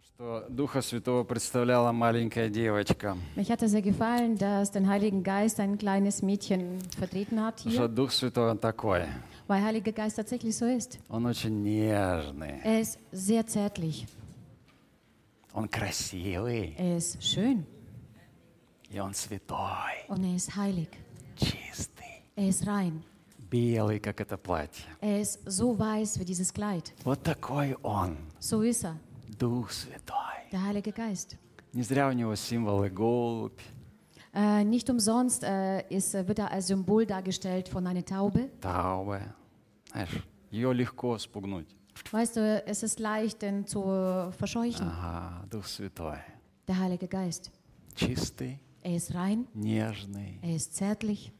что Духа Святого представляла маленькая девочка. Mich hat es sehr gefallen, dass der Heilige Geist ein kleines Mädchen vertreten hat Потому что hier, Дух Святой, он такой. weil Heiliger Geist tatsächlich so ist. Он очень нежный, Er ist sehr zärtlich, он красивый, er ist schön и он святой, und er ist heilig. чистый, Er ist rein. белый, как это платье. Er ist so weiß wie dieses Kleid. Вот такой он, So ist er, Дух Святой. der Heilige Geist. Не зря у него символы голубь, Nicht umsonst wird er als Symbol dargestellt von einer Taube. Таубе. Знаешь, ее легко спугнуть. Weißt du, es ist leicht, den zu verscheuchen. Ага, Дух Святой. Der Heilige Geist. Чистый, Er ist rein, нежный, er ist zärtlich,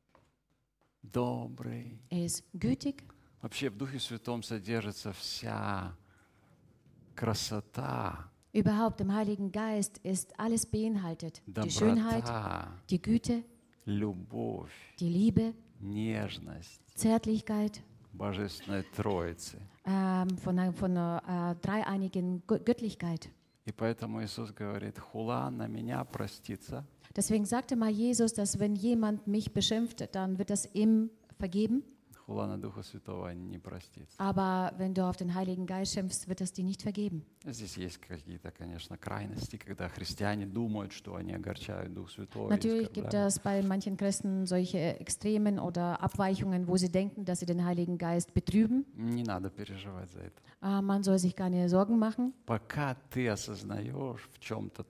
добрый. er ist gütig. Вообще в Духе Святом содержится вся красота, Überhaupt im Heiligen Geist ist alles beinhaltet. Die Schönheit, доброта, die Güte, любовь, die Liebe, нежность Zärtlichkeit Божественной Троицы. von dreieinigen Göttlichkeit. И поэтому Иисус говорит, хула на меня простится, Deswegen sagte mal Jesus, dass wenn jemand mich beschimpft, dann wird das ihm vergeben. хула на Духа Святого не простится. Aber wenn du auf den Heiligen Geist schimpfst, wird es dir nicht vergeben. Здесь есть какие-то, конечно, крайности, когда христиане думают, что они огорчают Дух Святой. Natürlich gibt es bei manchen Christen solche Extremen oder Abweichungen, wo sie denken, dass sie den Heiligen Geist betrüben. Не надо переживать за это. Man soll sich keine Sorgen machen. Пока ты осознаешь в чем-то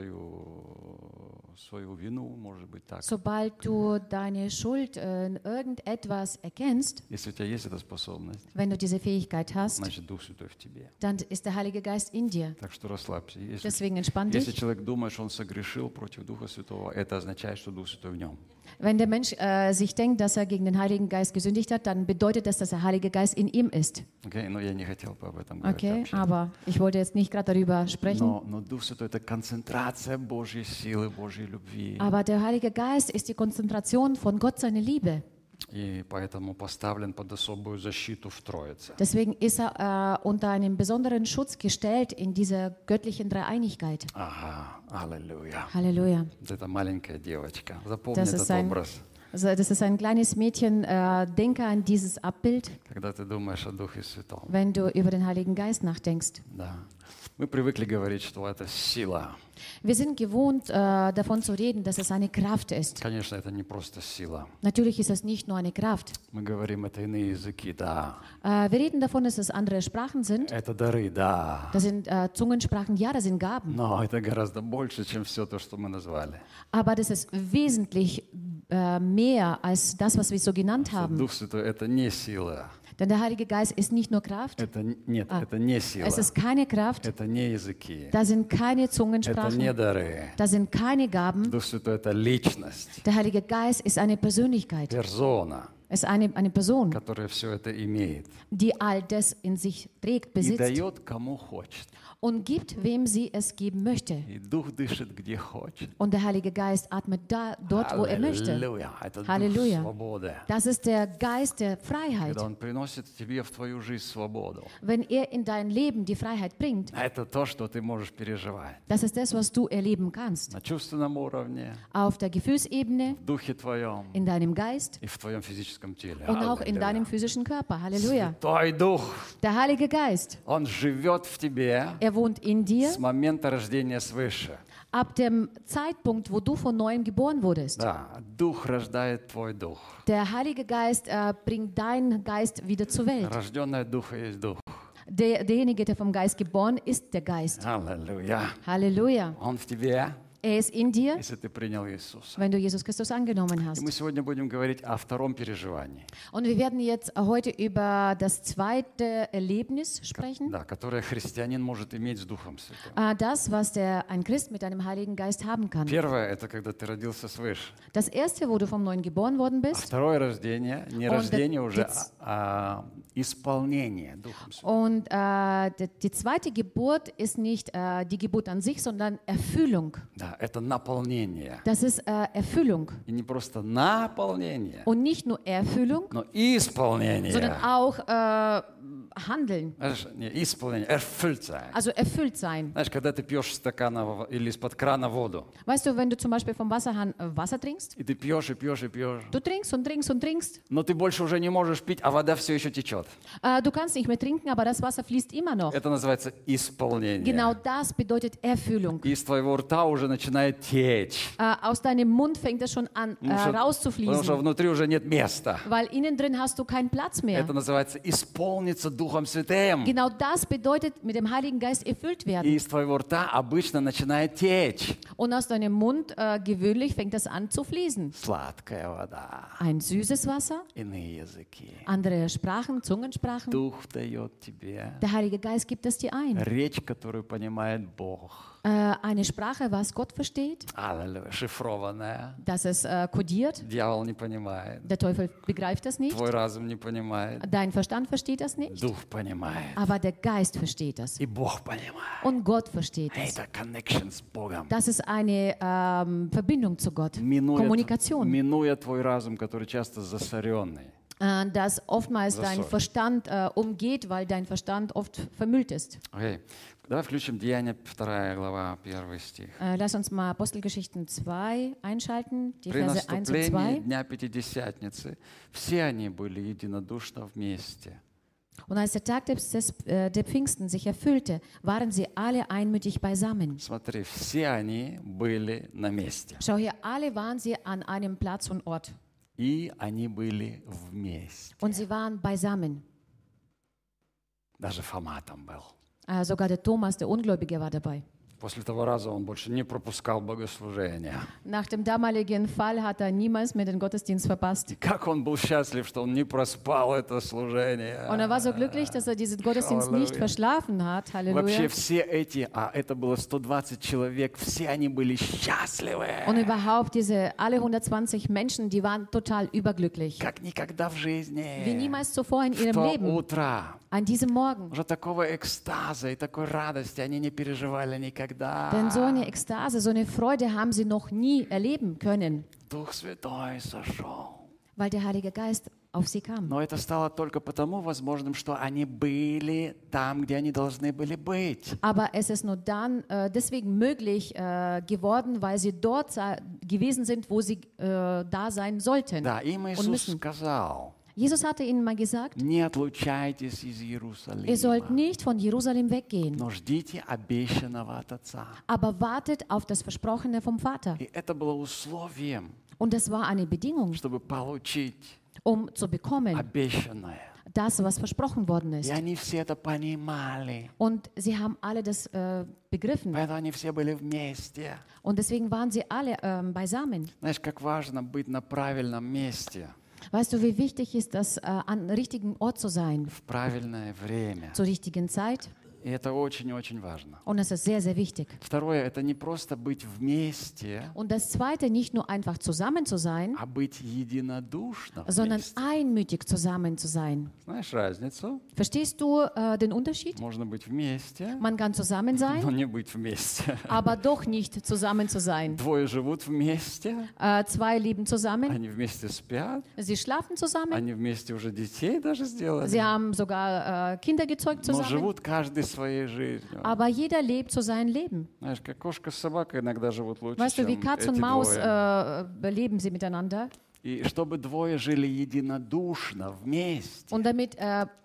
свою вину, может быть так. Sobald du deine Schuld in irgendetwas erkennst, Если у тебя есть эта способность, wenn du diese Fähigkeit hast, значит Дух Святой в тебе. dann ist der Heilige Geist in dir. Так что расслабься. Deswegen entspann Если dich. человек думает, что он согрешил против Духа Святого, это означает, что Дух Святой в нем. Wenn der Mensch sich denkt, dass er gegen den Heiligen Geist gesündigt hat, dann bedeutet das, dass der Heilige Geist in ihm ist. Okay? Но я не хотел бы об этом говорить Okay, вообще. aber ich wollte jetzt nicht gerade darüber sprechen. Но Дух Святой — это концентрация Божьей силы, Божьей любви. Aber der Heilige Geist ist die Konzentration von Gott, seine Liebe. И поэтому поставлен под особую защиту в Троице. Deswegen ist er unter einen besonderen Schutz gestellt in dieser göttlichen Dreieinigkeit. Ага, аллилуйя. Halleluja. Вот эта маленькая девочка. Запомни Das этот ist ein, образ. also das ist ein kleines Mädchen. Denke an dieses Abbild, Когда ты думаешь о Духе Святом. wenn du über den Heiligen Geist nachdenkst. Да. Мы привыкли говорить, что это сила. Wir sind gewohnt, davon zu reden, dass es eine Kraft ist. Конечно, это не просто сила. Natürlich ist es nicht nur eine Kraft. Мы говорим, это иные языки, да. Wir reden davon, dass es andere Sprachen sind. Это дары, да. Das sind Zungensprachen, ja, das sind Gaben. Но это гораздо больше, чем все то, что мы назвали. Aber das ist wesentlich mehr als das, was wir so genannt haben. Дух Святой — это не сила. Denn der Heilige Geist ist nicht nur Kraft. Нет, это не сила. Es ist keine Kraft. Это не языки. Da sind keine Это Zungensprachen. не дары. Da sind keine Gaben. Дух Святой — это личность, Der Heilige Geist ist eine Persönlichkeit. персона, Es ist eine Person, которая все это имеет die all das in sich trägt, и besitzt дает кому хочет. und gibt, wem sie es geben möchte. И Дух дышит где хочет. Und der Heilige Geist atmet dort, wo er möchte. Аллилуйя. Это Дух Halleluja. свободы. Das ist der Geist der Freiheit. Когда Он приносит тебе в твою жизнь свободу. Wenn er in dein Leben die Freiheit bringt, Это то, что ты можешь переживать. das ist das, was du erleben kannst. На чувственном уровне, Auf der Gefühlsebene, в духе твоем in deinem Geist и в твоем физическом теле. und auch in Аллилуйя. deinem physischen Körper. Halleluja. Святой Дух, Der Heilige Geist, Он живет в тебе er wohnt in dir с момента рождения свыше. ab dem Zeitpunkt, wo du von neuem geboren wurdest. Да, Дух рождает твой дух. Der Heilige Geist bringt deinen Geist wieder zur Welt. Рожденный от Духа есть Дух. Derjenige, der vom Geist geboren ist, der Geist. Аллилуйя. Halleluja. Он в тебе, Er ist in dir, если ты принял Иисуса. wenn du Jesus Christus angenommen И hast. мы сегодня будем говорить о втором переживании, Und wir werden jetzt heute über das zweite Erlebnis sprechen. да, которое христианин может иметь с Духом Святым. Das, was ein Christ mit einem Heiligen Geist haben kann. Первое — это когда ты родился свыше. Das erste, wo du vom Neuen geboren worden А bist. второе рождение, не Он рождение уже, дец- а исполнение Духом Святым. Und die zweite Geburt ist nicht die Geburt an sich, sondern Erfüllung. Да, это наполнение. Das ist Erfüllung. И не просто наполнение, Und nicht nur Erfüllung, но исполнение. sondern auch handeln, Знаешь, не исполнение, erfüllt sein. also erfüllt sein. Знаешь, когда ты пьешь из стакана или из-под крана воду, Weißt du, wenn du zum Beispiel vom Wasserhahn Wasser trinkst, и ты пьешь, и пьешь, и пьешь, du trinkst und trinkst und trinkst, но ты больше уже не можешь пить, а вода все еще течет. du kannst nicht mehr trinken, aber das Wasser fließt immer noch. Это называется исполнение. Genau das bedeutet Erfüllung. И из твоего рта уже начинает течь. Aus deinem Mund fängt es schon an Потому что rauszufließen, внутри уже нет места. weil innen drin hast du keinen Platz mehr. Это называется исполниться Духом Святым. Genau das bedeutet mit dem Heiligen Geist erfüllt И werden. из твоего рта обычно начинает течь Und aus deinem Mund gewöhnlich fängt es an zu fließen. сладкая вода, Ein süßes Wasser, иные языки. andere Sprachen, Zungensprachen. Дух дает тебе Der Heilige Geist gibt es dir ein. речь, которую понимает Бог. Eine Sprache, was Gott versteht, Аллилуйя, шифрованная. dass es kodiert. Дьявол не понимает. Der Teufel begreift das nicht. Твой разум не понимает. Dein Verstand versteht das nicht. Дух понимает. Aber der Geist versteht das. И Бог понимает. Und Gott versteht es. Это connection с Богом. Das ist eine Verbindung zu Gott. Kommunikation. Минуя твой разум, который часто засоренный. Das oftmals Das dein soll. Verstand umgeht, weil dein Verstand oft vermüllt ist. Окей. Давай включим Деяния 2 глава, 1 стих. Lass uns mal Apostelgeschichten 2 einschalten, die При Verse 1 und наступлении 2. Дня Пятидесятницы все они были единодушно вместе. Und als der Tag der Pfingsten sich erfüllte, waren sie alle einmütig beisammen. Смотри, все они были на месте. Schau hier, alle waren sie an einem Platz und Ort. И они были вместе. Und sie waren beisammen. Даже Фома там был. Sogar der Thomas, der Ungläubige, war dabei. После того раза он больше не пропускал богослужения. Nach dem damaligen Fall hat er niemals mehr den Gottesdienst verpasst. Как он был счастлив, что он не проспал это служение. Und er war so glücklich, dass er diesen Gottesdienst nicht verschlafen hat. Вообще Halleluja. все эти, это было 120 человек, все они были счастливы. Und überhaupt alle 120 Menschen, die waren total überglücklich. Как никогда в жизни. Wie niemals zuvor in В ihrem то Leben. утро. An diesem Morgen. Уже такого экстаза и такой радости они не переживали никогда. Denn so eine Ekstase, so eine Freude haben sie noch nie erleben können, Дух Святой сошел. weil der Heilige Geist auf sie kam. Но это стало только потому возможным, что они были там, где они должны были быть. Aber es ist nur dann deswegen möglich geworden, weil sie dort gewesen sind, wo sie da sein sollten Да, им und Иисус müssen. сказал, Jesus hatte ihnen mal gesagt, не отлучайтесь из ihr Иерусалима, sollt nicht von Jerusalem weggehen, но ждите обещанного от Отца. aber wartet auf das Versprochene vom Vater. И это было условием, Und das war eine Bedingung, чтобы получить um zu bekommen, обещанное. das, was versprochen worden И ist. они все это понимали. Und sie haben alle das begriffen. Поэтому они все были вместе. Und deswegen waren sie alle beisammen. Знаешь, как важно быть на правильном месте Weißt du, wie wichtig ist es, an richtigen Ort zu sein, в правильное время. zur richtigen Zeit? И это очень-очень важно. Und das ist sehr, sehr wichtig. Второе, это не просто быть вместе, Und das Zweite, nicht nur einfach zusammen zu sein, а быть единодушно sondern вместе. einmütig zusammen zu sein. Знаешь разницу? Verstehst du den Unterschied? Можно быть вместе, Man kann zusammen но sein, не быть вместе. aber doch nicht zusammen zu sein. Двое живут вместе, Zwei leben zusammen, они вместе спят, sie schlafen zusammen, они вместе уже детей даже сделали, sie haben sogar Kinder gezeugt но zusammen, живут каждый своей жизнью. aber jeder lebt so sein Leben. Знаешь, как кошка с собакой иногда живут лучше, Weißt du, wie чем Katz эти und Maus двое. leben sie miteinander. И чтобы двое жили единодушно вместе, Und damit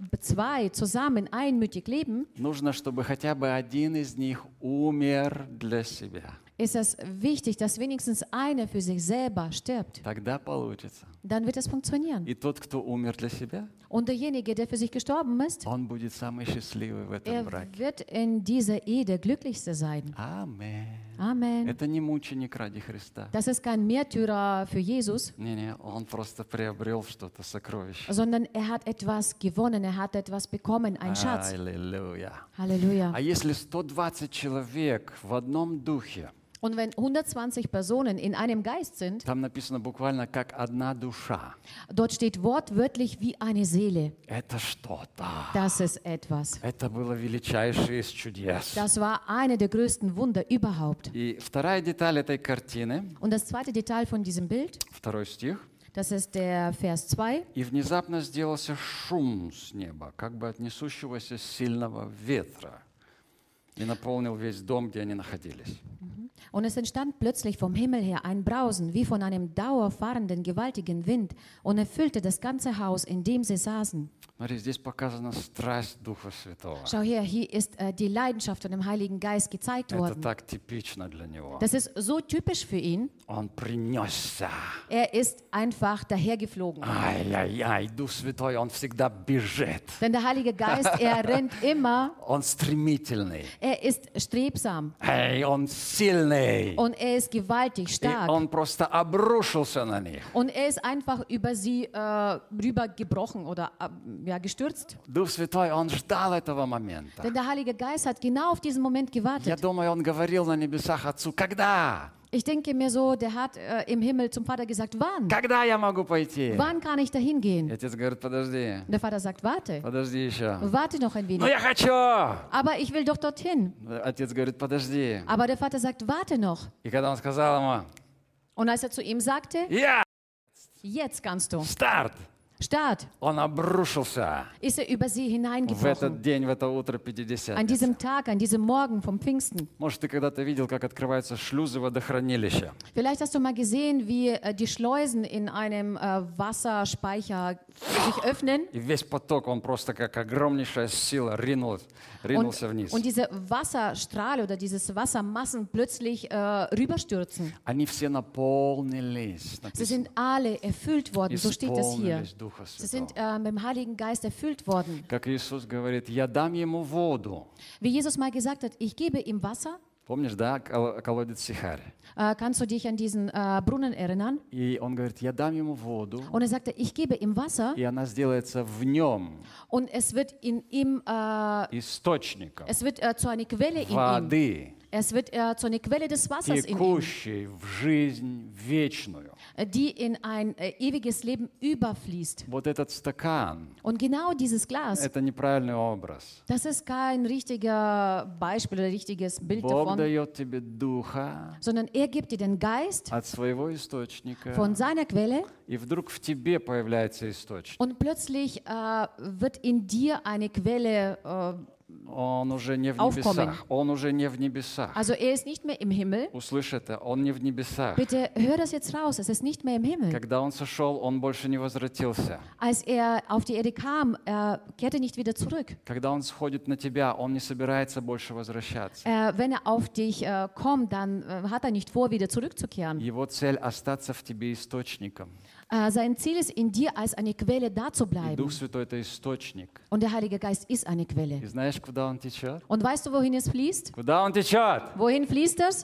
zwei zusammen einmütig leben, нужно, чтобы хотя бы один из них умер для себя. ist es wichtig, dass wenigstens einer für sich selber stirbt. Тогда получится. Dann wird es funktionieren. И тот, кто умер для себя, Und derjenige, der für sich gestorben ist, он будет самый счастливый в этом браке. wird in dieser Ehe der Glücklichste sein. Amen. Amen. Это не мученик ради Христа. Das ist kein Märtyrer für Jesus, Не-не, он просто приобрел что-то, сокровище. sondern er hat etwas gewonnen, er hat etwas bekommen, ein Schatz. Аллилуйя. Halleluja. А если 120 человек в одном духе, Und wenn 120 Personen in einem Geist sind, там написано буквально как одна душа. dort steht wortwörtlich wie eine Seele. Это что-то. Das ist etwas. Это было величайшее из чудес. Das war eine der größten Wunder überhaupt. И вторая деталь этой картины, Und das zweite Detail von diesem Bild, 2 стих, Das ist der Vers 2. И внезапно сделался шум с неба, как бы от несущегося сильного ветра, и наполнил весь дом, где они находились. Und es entstand plötzlich vom Himmel her ein Brausen, wie von einem dauerfahrenden, gewaltigen Wind, und erfüllte das ganze Haus, in dem sie saßen. Смотри, здесь показана страсть Духа Святого. Schau her, hier ist die Leidenschaft von dem Heiligen Geist gezeigt Это worden. так типично для него. Das ist so typisch für ihn. Он принесся. Er ist einfach dahergeflogen. Ай-яй-яй, Дух Святой, он всегда бежит. Denn der Heilige Geist, er rennt immer, Он стремительный. er ist strebsam Эй, он сильный. und er ist gewaltig И stark. он просто обрушился на них. Und er ist einfach über sie rübergebrochen oder gestürzt. Дух Святой, он ждал этого момента. Denn der Heilige Geist hat genau auf diesen Moment Я gewartet. думаю, он говорил на небесах Отцу, когда? Ich denke mir so, der hat im Himmel zum Vater gesagt, wann? Когда я могу пойти? Wann kann ich dahin И gehen? отец говорит, подожди, Und der Vater sagt, warte, подожди еще. warte noch ein Ну wenig. я хочу! Aber ich will doch dorthin. Отец говорит, подожди. Aber der Vater sagt, warte noch. И когда он сказал ему, Und als er zu ihm sagte, я, jetzt kannst du, старт, Start, он обрушился ist er über sie в этот hineingebrochen. день, в это утро An Пятидесятницы. diesem Tag, an diesem Morgen vom Pfingsten. Может, ты когда-то видел, как открываются шлюзы водохранилища. Vielleicht hast du mal gesehen, wie die Schleusen in einem Wasserspeicher sich öffnen И весь поток, он просто как огромнейшая сила ринулся вниз. und diese Wasserstrahle oder dieses Wassermassen plötzlich rüberstürzen. Они все наполнились. Sie sind alle erfüllt worden, so steht es hier. Исполнились Духа Sie sind Святого. mit dem Heiligen Geist erfüllt worden. Как Иисус говорит, я дам ему воду. Wie Jesus mal gesagt hat, ich gebe ihm Wasser. Помнишь, да, колодец Сихарь? Kannst du dich an diesen Brunnen erinnern? И он говорит, я дам ему воду, Und er sagte, ich gebe ihm Wasser и она сделается в нем und es wird in ihm, источником es wird zu einer Quelle in ihm. воды, Es wird zu einer Quelle des Wassers in ihm, текущей в жизнь вечную. die in ein ewiges Leben überfließt. Вот этот стакан, Und genau dieses Glas, это неправильный образ. das ist kein richtiger Beispiel oder richtiges Bild Бог davon, дает тебе духа sondern er gibt dir den Geist от своего источника, von seiner Quelle и вдруг в тебе появляется источник. und plötzlich wird in dir eine Quelle, Он уже не в Aufkommen. небесах. Он уже не в небесах. also er ist nicht mehr im Himmel. Услышь это, он не в небесах. Bitte hör das jetzt raus, es ist nicht mehr im Himmel. Когда он сошел, он больше не возвратился. Als er auf die Erde kam, er kehrte nicht wieder zurück. Когда он сходит на тебя, он не собирается больше возвращаться. Wenn er auf dich kommt, dann hat er nicht vor, wieder zurückzukehren. Его цель остаться в тебе источником. Sein Ziel ist, in dir als eine Quelle da zu И bleiben. Дух Святой это источник. Und der Heilige Geist ist eine Quelle. И знаешь, куда он течет? Und weißt du, wohin es fließt? Куда он течет? Wohin fließt es?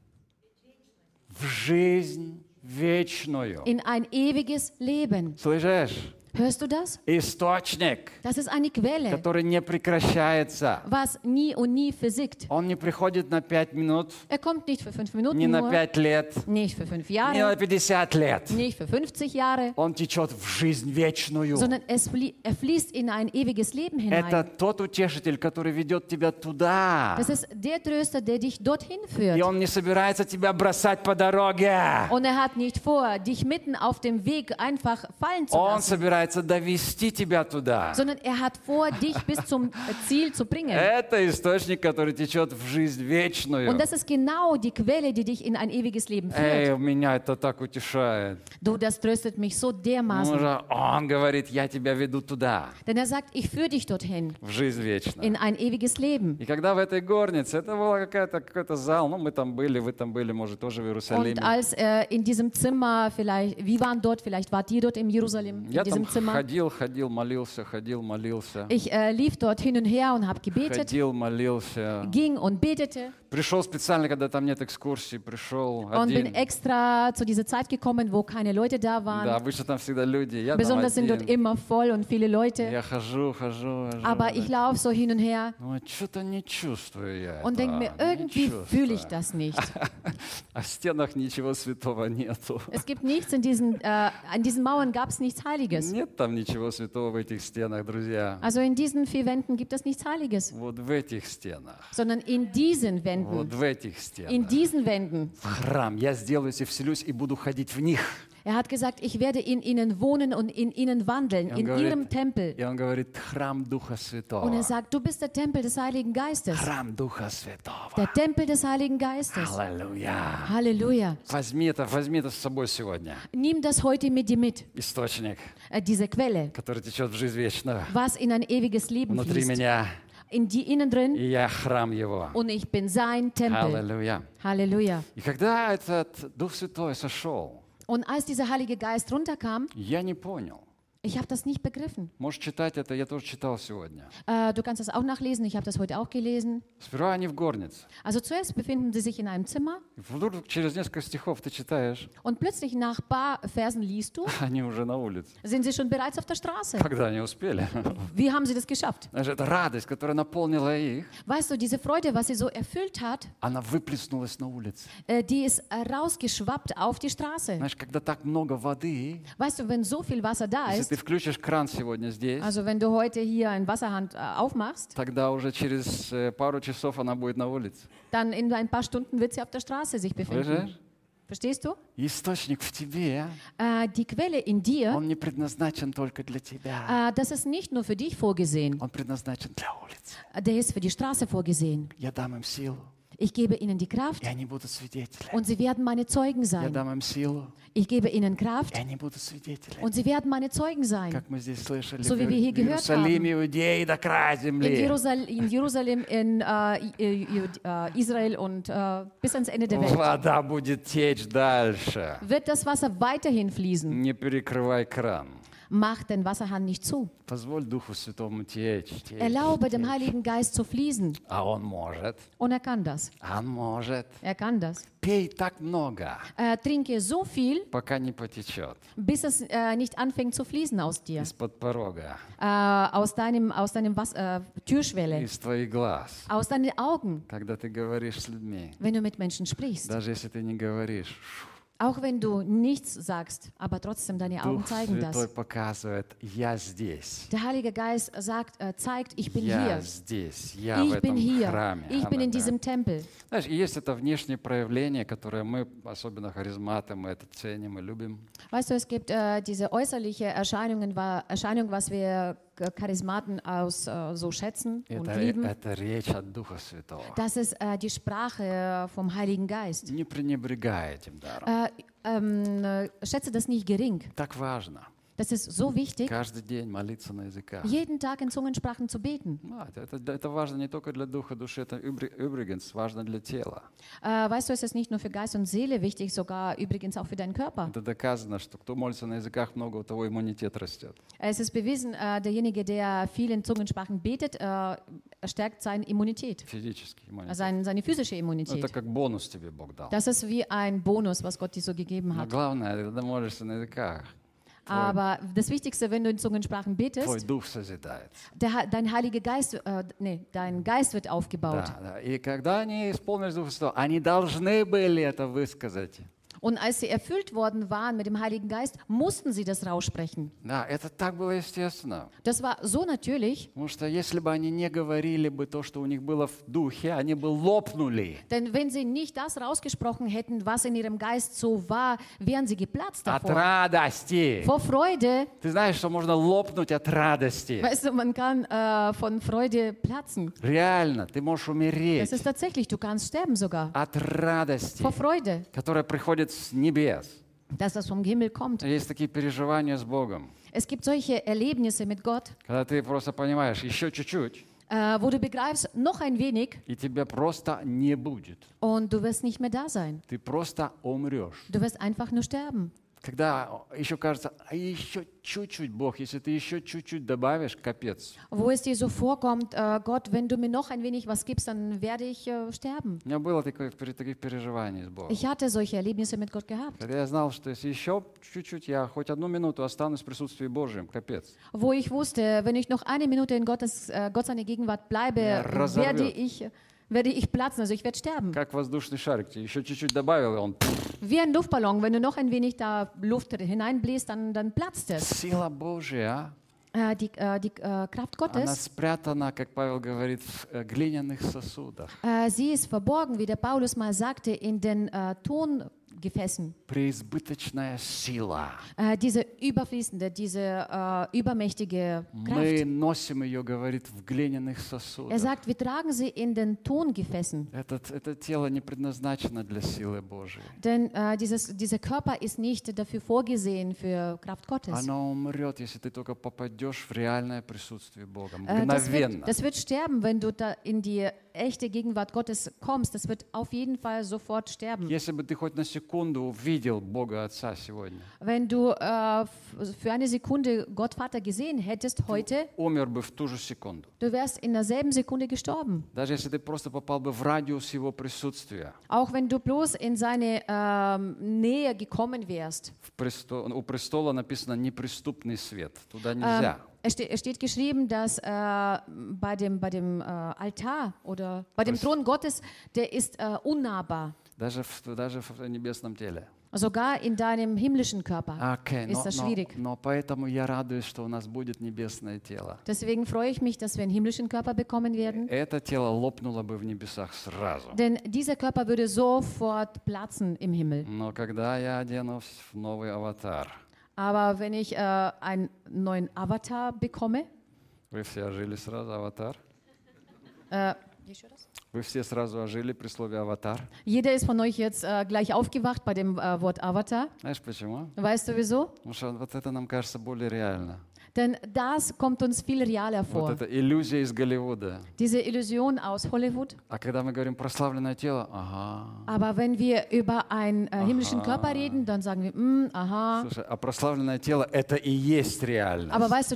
В жизнь вечную. In ein ewiges Leben. Слышишь? Hörst du das? Источник, Das ist eine Quelle, который не прекращается. was nie und nie versiegt. Он не приходит на 5 минут, Er kommt nicht für 5 Minuten не на nur, 5 лет, nicht für 5 не на Jahre, 50 лет. nicht für 50 Jahre, Он течет в жизнь вечную. sondern er fließt in ein ewiges Leben Это hinein. тот утешитель, который ведет тебя туда. Das ist der Tröster, der dich dorhin И führt. он не собирается тебя бросать по дороге. Und er hat nicht vor, dich mitten auf dem Weg einfach fallen zu Он lassen, собирается довести тебя туда. sondern er hat vor, dich bis zum Ziel zu bringen. Это источник, который течет в жизнь вечную. Und das ist genau die Quelle, die dich in ein ewiges Leben Эй, führt. меня это так утешает. Du, das tröstet mich so dermaßen. Он говорит, я тебя веду туда, Denn er sagt, ich führe dich dorthin, в жизнь вечную. in ein ewiges Leben. И когда в этой горнице, это был какой-то зал, ну мы там были, вы там были, может, тоже в Und Иерусалиме. als in diesem Zimmer, vielleicht, wir waren dort, vielleicht wart ihr dort in Jerusalem, in Я там diesem Zimmer. ходил, молился. Ich lief dort hin und her und habe gebetet, Ходил, молился. ging und betete Пришел специально, когда там нет экскурсий, пришел und bin один. extra zu dieser Zeit gekommen, wo keine Leute da Да, waren. обычно там всегда люди. Я там Besonders sind dort один. immer voll und viele Leute. Я хожу. Aber ich laufe so hin und her Ну, что-то не чувствую я und denke mir, этого, не irgendwie чувствую. fühle ich das nicht. А в стенах ничего святого нету. Es gibt nichts an diesen Mauern gab es nichts Heiliges. Нет там ничего святого в этих стенах, друзья. Also in diesen 4 Wänden gibt es nichts Heiliges, Вот в этих стенах. sondern in diesen Вот Wänden, в этих in стенах. diesen Wänden В храм. Я сделаюсь и вселюсь и буду ходить в них. Er hat gesagt, ich werde in ihnen wohnen und in ihnen wandeln, in ihrem Tempel. И он говорит, храм Духа Und Святого. er sagt, du bist der Tempel des Heiligen Geistes. Храм Духа Святого. Der Tempel des Heiligen Geistes. Аллилуйя. Halleluja. Возьми это с собой сегодня. Nimm das heute mit dir mit, Источник, diese Quelle, который течет в жизнь вечную. was in ein ewiges Leben Внутри fließt. меня. In die innen drin И я храм Его. und ich bin sein Tempel. Аллилуйя. Halleluja. И когда этот Дух Святой сошел, Und als dieser Heilige Geist runterkam, я не понял. ich habe das nicht begriffen. Можешь читать это, я тоже читал сегодня. Du kannst das auch nachlesen, ich habe das heute auch gelesen. Сперва они в горнице. Also zuerst befinden sie sich in einem Zimmer И вдруг через несколько стихов ты читаешь, und plötzlich nach ein paar Versen liest du, они уже на улице. sind sie schon bereits auf der Straße. Когда они успели? Wie haben sie das geschafft? Знаешь, эта радость, которая наполнила их, Weißt du, diese Freude, was sie so erfüllt hat, она выплеснулась на улице. die ist rausgeschwappt auf die Straße. Знаешь, когда так много воды, Weißt du, wenn so viel Wasser da если ist, ты включишь кран сегодня здесь, also wenn du heute hier einen Wasserhahn aufmachst, тогда уже через пару часов она будет на улице. dann in ein paar Stunden wird sie auf der Straße sich befinden. Слышишь? Verstehst du? Источник в тебе, Die Quelle in dir, он не предназначен только для тебя. das ist nicht nur für dich vorgesehen, Он предназначен для улицы. der ist für die Straße vorgesehen. Я дам им силу, Ich gebe ihnen die Kraft и они будут свидетелями. und sie werden meine Zeugen Я sein. дам им силу, Ich gebe ihnen Kraft и они будут свидетелями. und sie werden meine Zeugen sein. Как мы здесь слышали, So wie wir hier в gehört Иерусалиме, Иудеи до края In земли. Jerusalem, in Israel und bis ans Ende der Welt Вода будет течь дальше. wird das Wasser weiterhin fließen. Не перекрывай кран. Mach den Wasserhahn nicht zu. Позволь Духу Святому течь. Erlaube dem Heiligen Geist zu fließen. А Он может. Und er kann das. Он может. Er kann das. Пей так много, Trinke so viel, пока не потечет bis es nicht anfängt zu fließen aus dir. из-под порога, Aus deinem Türschwelle. из твоих глаз. Aus deinen Augen, Когда ты говоришь с людьми, wenn du mit Menschen sprichst. даже если ты не говоришь, Auch wenn du nichts sagst, aber trotzdem deine Augen Дух zeigen Святой das. показывает, я здесь. Der Heilige Geist zeigt, ich bin Я hier. здесь, я в Ich bin этом hier. храме. Ich bin in Аминь. diesem Tempel. Знаешь, и есть это внешнее проявление, которое мы, особенно харизматы, мы это ценим и любим. Weißt du, es gibt diese äußerliche Erscheinung, was wir Charismaten so schätzen und lieben. Это речь от Духа Святого. Das ist die Sprache vom Heiligen Geist. Не пренебрегай этим даром. Schätze das nicht gering. Так важно. Das ist so wichtig, Каждый день молиться на языках. jeden Tag in Zungensprachen zu beten. Это важно не только для духа, души, это übrigens важно для тела. Weißt du, es ist nicht nur für Geist und Seele wichtig, sogar übrigens auch für deinen Körper. Это доказано, что кто молится на языках много, у того иммунитет растет. Es ist bewiesen, derjenige, der viel in Zungensprachen betet, stärkt seine Immunität, Физический иммунитет. seine physische Это Immunität. как бонус тебе Бог дал. Das ist wie ein Bonus, was Gott dir so gegeben Но hat. главное, когда молишься на языках, Aber das Wichtigste, wenn du in Zungensprachen твой betest, дух созидается. dein Heiliger Geist, dein Geist wird aufgebaut. Да. И когда они исполнились Духа Святого, они должны были это высказать. Und als sie erfüllt worden waren mit dem Heiligen Geist, mussten sie das raussprechen. Да, это так было естественно. Das war so natürlich, Потому что если бы они не говорили бы то, что у них было в духе, они бы лопнули denn wenn sie nicht das rausgesprochen hätten, was in ihrem Geist so war, wären sie geplatzt от davor. радости. Vor Freude, Ты знаешь, что можно лопнуть от радости. weißt du, man kann von Freude platzen. Реально, ты можешь Das умереть ist tatsächlich, du kannst sterben sogar. от радости, Vor Freude, которая приходит с небес. dass das vom Himmel kommt. Есть такие переживания с Богом, Es gibt solche Erlebnisse mit Gott, когда ты просто понимаешь, еще чуть-чуть, wo du begreifst, noch ein wenig и тебя просто не будет. und du wirst nicht mehr da sein. Ты просто умрешь. Du wirst einfach nur sterben. Когда еще кажется, а еще чуть-чуть, Бог, если ты еще чуть-чуть добавишь, капец. Wo es dir so vorkommt, Gott, wenn du mir noch ein wenig was gibst, dann werde ich sterben. У меня было таких переживаний с Богом. Ich hatte solche Erlebnisse mit Gott gehabt, Когда я знал, что если еще чуть-чуть, я хоть одну минуту останусь в присутствии Божьем, капец. wo ich wusste, wenn ich noch eine Minute in Gott seine Gegenwart bleibe, werde ich platzen, also ich werde sterben. Как воздушный шарик, тебе еще чуть-чуть добавил, и он... Wie ein Luftballon, wenn du noch ein wenig da Luft hineinbläst, dann platzt es. Сила Божья, Die Kraft она Gottes, спрятана, как Павел говорит, в глиняных сосудах. sie ist verborgen, wie der Paulus mal sagte, in den Gefäßen. преизбыточная сила. Diese überfließende, diese übermächtige Kraft. Мы носим ее, говорит, в глиняных Er сосудах. sagt, wir tragen sie in den Tongefäßen. Это тело не предназначено для силы Божией. Denn dieser Körper ist nicht dafür vorgesehen für Kraft Gottes. Оно умрет, если ты только попадешь в реальное присутствие Бога. Das Мгновенно. wird sterben, wenn du da in die echte Gegenwart Gottes kommst. Das wird auf jeden Fall sofort sterben. Если бы ты хоть на секунду увидел Бога Отца сегодня, Wenn du für eine Sekunde Gott Vater gesehen hättest heute, умер бы в ту же секунду. du wärst in derselben Sekunde gestorben. Даже если ты просто попал бы в радиус Его присутствия. Auch wenn du bloß in seine Nähe gekommen wärst. У престола написано «неприступный свет». Туда нельзя. Es steht geschrieben, dass bei dem Altar oder bei dem Thron Gottes, der ist unnahbar. Даже в небесном теле. Sogar in deinem himmlischen Körper Окей, ist das schwierig. но поэтому я радуюсь, что у нас будет небесное тело. Deswegen freue ich mich, dass wir einen himmlischen Körper bekommen werden. Это тело лопнуло бы в небесах сразу. Denn dieser Körper würde sofort platzen im Himmel. Но когда я оденусь в новый аватар, Aber wenn ich einen neuen Avatar bekomme, вы все ожили сразу, аватар? äh, Вы все сразу ожили при слове аватар? jeder ist von euch jetzt gleich aufgewacht bei dem Wort Avatar. Знаешь почему? Weißt du wieso? Потому что вот это нам кажется более реально. Denn das kommt uns viel realer vor. Вот это иллюзия из Голливуда. Diese Illusion aus Hollywood. А когда мы говорим прославленное тело, ага. Aber wenn wir über einen himmlischen Körper reden, dann sagen wir, aha. Слушай, а прославленное тело это и есть реальность. Aber weißt du,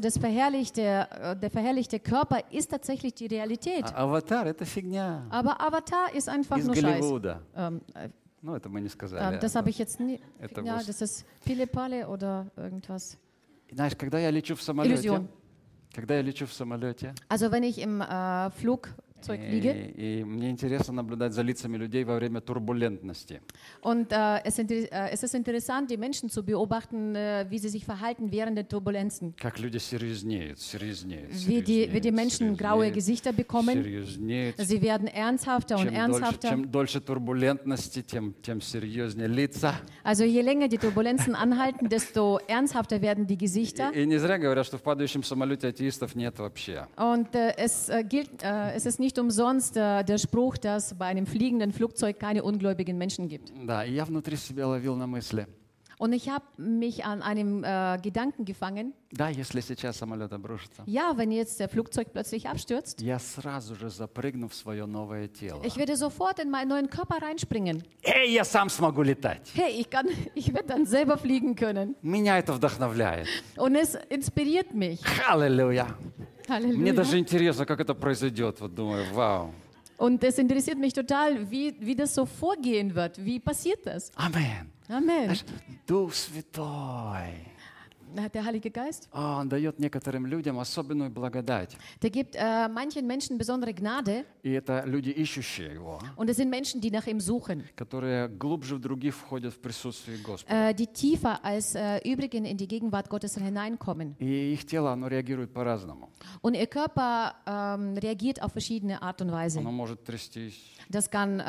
der verherrlichte Körper ist tatsächlich die Realität. А аватар это фигня Aber Avatar ist einfach из nur Scheiß. Голливуда. Ну, это мы не сказали. Das habe ich jetzt nie. Это Ja, was- das ist Pille-Palle oder irgendwas. Знаешь, когда я лечу в самолете, Illusion. когда я лечу в самолете, Also wenn ich im Flugzeug liege и мне интересно наблюдать за лицами людей во время турбулентности. und es ist interessant, die Menschen zu beobachten, wie sie sich verhalten während der Turbulenzen. Как люди серьезнеют. Wie die Menschen graue Gesichter bekommen. Серьезнеют. Sie werden ernsthafter und ernsthafter. Чем дольше турбулентности, тем серьезнее лица. Also je länger die Turbulenzen anhalten, desto ernsthafter werden die Gesichter. И не зря говорят, что в падающем самолете атеистов нет вообще. Und es ist nicht umsonst der Spruch, dass bei einem fliegenden Flugzeug keine ungläubigen Menschen gibt. Да, и я внутри себя ловил на мысли. Und ich habe mich an einem Gedanken gefangen. Да, если сейчас самолет обрушится, Ja, wenn jetzt der Flugzeug plötzlich abstürzt, я сразу же запрыгну в свое новое тело. ich werde sofort in meinen neuen Körper reinspringen. Эй, я сам смогу летать. Hey, ich werde dann selber fliegen können. Меня это вдохновляет. Und es inspiriert mich. Аллилуйя. Мне Halleluja. даже интересно, как это произойдет. Вот думаю, вау. Und es interessiert mich total, wie das so vorgehen wird. Wie passiert das? Амен. Amen. Знаешь, Дух Святой, Der Heilige Geist, Он дает некоторым людям особенную благодать. der gibt manchen Menschen besondere Gnade. И это люди, ищущие Его, Und es sind Menschen, die nach ihm suchen, которые глубже в других входят в присутствие Господа. die tiefer als übrigen in die Gegenwart Gottes hineinkommen. И их тело, оно реагирует по-разному. Und ihr Körper reagiert auf verschiedene Art und Weise. Оно может трястись, Das kann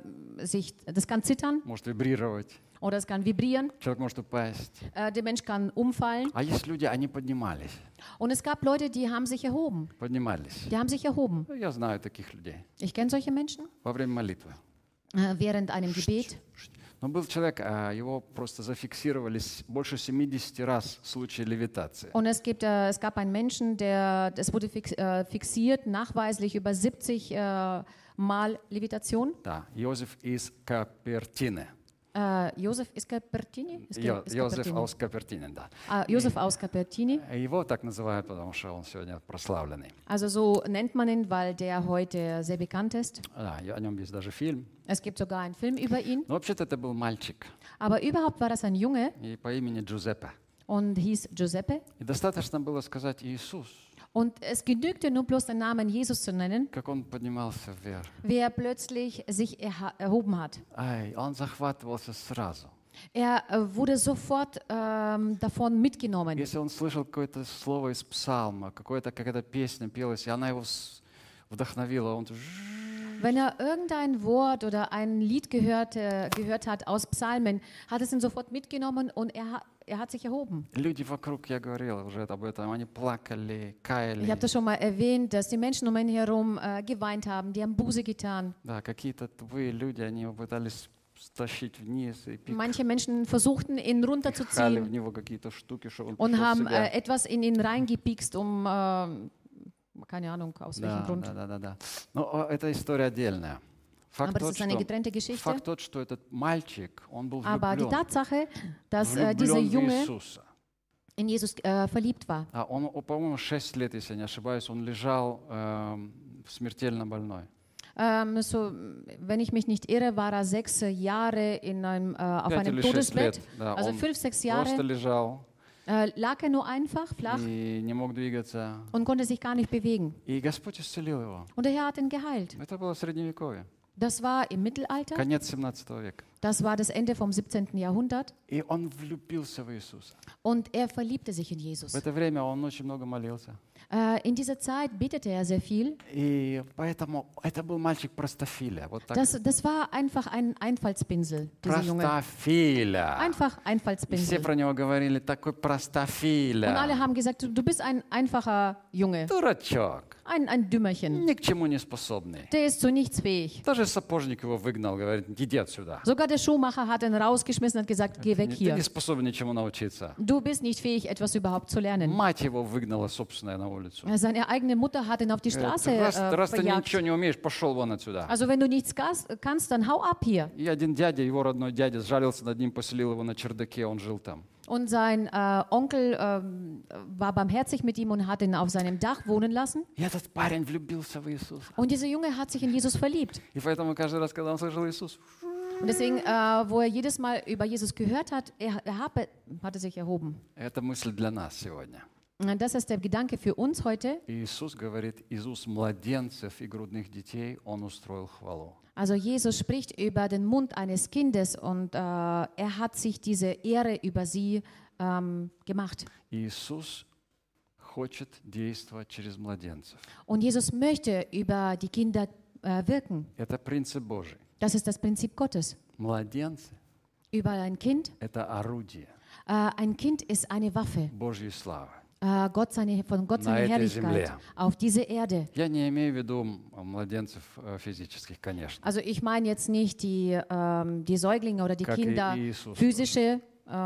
zittern может вибрировать. oder es kann vibrieren. Человек может упасть. Der Mensch kann umfallen. А есть люди, они поднимались. Und es gab Leute, die haben sich erhoben. Поднимались. Die haben sich erhoben. Ну, я знаю таких людей. Ich kenne solche Menschen Во время молитвы. während einem Gebet. Но был человек, его просто зафиксировали больше 70 раз в случае левитации. Und es gab einen Menschen, das wurde fixiert, nachweislich über 70 Mal Levitation. Да, Иозеф из Капертины. Josef из Cupertini? Иозеф aus Капертины, да. Josef aus Cupertini. Его так называют, потому что он сегодня прославленный. Also so nennt man ihn, weil der heute sehr bekannt ist. Да, и о нем есть даже фильм. Es gibt sogar einen Film über ihn. Но вообще-то это был мальчик Aber überhaupt war das ein Junge и по имени Джузеппе. und hieß Giuseppe. И достаточно было сказать Иисус, Und es genügte nur bloß den Namen Jesus zu nennen, как он поднимался вверх. wie er plötzlich sich erhoben hat. Ай, он захватывался сразу. Er wurde sofort davon mitgenommen. Если он слышал какое-то слово из псалма, какая-то песня пелась, и она его вдохновила, он Wenn er irgendein Wort oder ein Lied gehört hat aus Psalmen, hat es ihn sofort mitgenommen und er hat sich erhoben. Люди вокруг, я говорил уже об этом, они плакали, Ich каяли. habe das schon mal erwähnt, dass die Menschen um ihn herum geweint haben, die haben Buße getan. Да, какие-то тупые люди, они его пытались стащить вниз и Manche Menschen versuchten, ihn пихали в runterzuziehen него какие-то штуки, чтобы он und пришел в haben себя. etwas in ihn reingepikst, um, keine Ahnung, aus welchem Да, Grund. да. Но это история отдельная. Aber das ist eine getrennte Факт Geschichte. тот, что этот мальчик, он был Aber die влюблен, Tatsache, dass dieser влюблен в Junge Иисуса. in Jesus verliebt war. Он, по-моему, 6 лет, если я не ошибаюсь, он лежал смертельно больной. Wenn ich mich nicht irre, war er 6 Jahre auf 5 einem или 6 лет. Todesbett. Да, Also он 5, 6 просто Jahre лежал lag er nur einfach flach и не мог двигаться. und konnte sich gar nicht bewegen. И Господь исцелил его. Und der Herr hat ihn geheilt. Это было Средневековье, Das war im Mittelalter. конец 17 века. Das war das Ende vom 17. Jahrhundert. И он влюбился в Иисуса. Und er verliebte sich in В Jesus. это время он очень много молился. In dieser Zeit betete er sehr viel. И поэтому это был мальчик простофиля. Вот так. Das war einfach ein Einfallspinsel, dieser Junge. Простофиля. Einfach И все Einfallspinsel. про него говорили, такой Und alle простофиля. haben gesagt, du bist ein einfacher Junge, Дурачок. ein Dümmerchen. Ни к чему не способный. Der ist zu nichts fähig. Даже сапожник его выгнал, говорит, иди отсюда. Sogar der Schuhmacher hat ihn rausgeschmissen und gesagt, geh weg Ты hier. не способен ничему научиться. Du bist nicht fähig, etwas überhaupt zu lernen. Мать его выгнала собственная на улицу. Seine eigene Mutter hat ihn auf die Straße Раз ты verjagt. ничего не умеешь, пошел вон отсюда. Also wenn du nichts kannst, dann hau ab hier. И один дядя, его родной дядя, сжалился над ним, поселил его на чердаке, он жил там. Und sein Onkel war barmherzig mit ihm und hat ihn auf seinem Dach wohnen lassen. И этот парень влюбился в Иисуса. Und dieser Junge hat sich in Jesus verliebt. И поэтому каждый раз, когда он слышал Иисус, Und deswegen, wo er jedes Mal über Jesus gehört hat, er hatte sich erhoben. это мысль для нас сегодня. Und das ist der Gedanke für uns heute. Иисус говорит, из уст младенцев и грудных детей Он устроил хвалу. Also Jesus spricht über den Mund eines Kindes und er hat sich diese Ehre über sie gemacht. Иисус хочет действовать через младенцев. Und Jesus möchte über die Kinder wirken. Это принцип Божий. Das ist das Prinzip Gottes. Младенцы Über ein Kind. – это орудие Ein Kind ist eine Waffe. Божьей славы. Von Gott seine этой Herrlichkeit земле. auf diese Erde. Я не имею в виду младенцев физических, конечно. Also ich meine jetzt nicht die Säuglinge oder die Как и Kinder, Иисус. physische,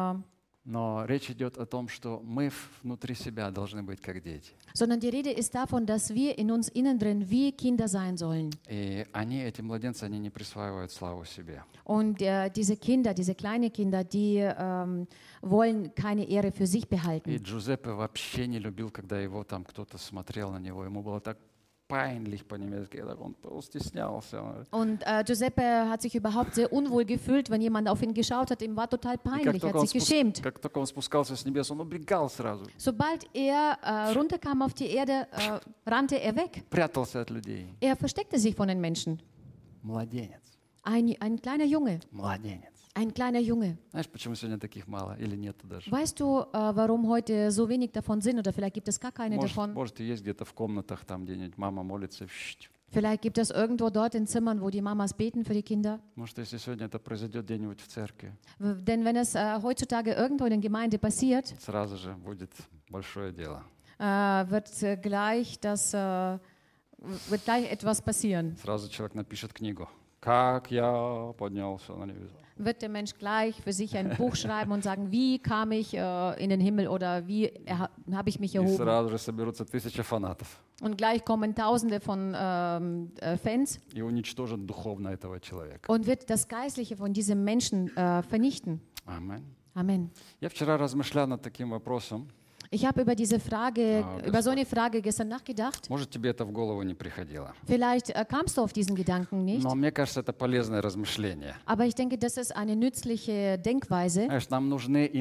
Но речь идет о том, что мы внутри себя должны быть как дети. sondern die Rede ist davon, dass wir in uns innen drin wie Kinder sein sollen. И они, эти младенцы, они не присваивают славу себе. Und diese Kinder, diese kleinen Kinder, die wollen keine Ehre für sich И behalten. Джузеппе вообще не любил, когда его там кто-то смотрел на него. Ему было так peinlich по-немецки, он стеснялся. Und Giuseppe hat sich überhaupt sehr unwohl gefühlt, wenn jemand auf ihn geschaut hat. Ihm war total И peinlich, er hat sich geschämt. как только он спускался с небес, он убегал сразу, Sobald er runterkam auf die Erde, rannte er weg. прятался от людей. Er versteckte sich von den Menschen. Младенец, Ein kleiner Junge, младенец. ein kleiner Junge. Знаешь, почему сегодня таких мало или нету даже? Weißt du, warum heute so wenig davon sind oder vielleicht gibt es gar keine davon? Может, и есть где-то в комнатах, там где-нибудь мама молится. Vielleicht gibt es irgendwo dort in Zimmern, wo die Mamas beten für die Kinder. Может, если сегодня это произойдет где-нибудь в церкви, Denn wenn es heutzutage irgendwo in der Gemeinde passiert, сразу же будет большое дело. wird gleich etwas passieren. Сразу человек напишет книгу. Как я поднялся на небеса. Wird der Mensch gleich für sich ein Buch schreiben und sagen, wie kam ich in den Himmel oder wie habe ich mich И erhoben? сразу же соберутся 1000 фанатов Und gleich kommen Tausende von Fans и уничтожат духовно этого человека. und wird das Geistliche von diesem Menschen vernichten. Amen. Amen. Я вчера размышлял над таким вопросом. Ich habe über diese Frage, das über so eine Frage gestern nachgedacht. Может, тебе это в голову не приходило. Vielleicht kamst du auf diesen Gedanken nicht, Но мне кажется, это полезное размышление. aber ich denke, das ist eine nützliche Denkweise. Знаешь, нам нужны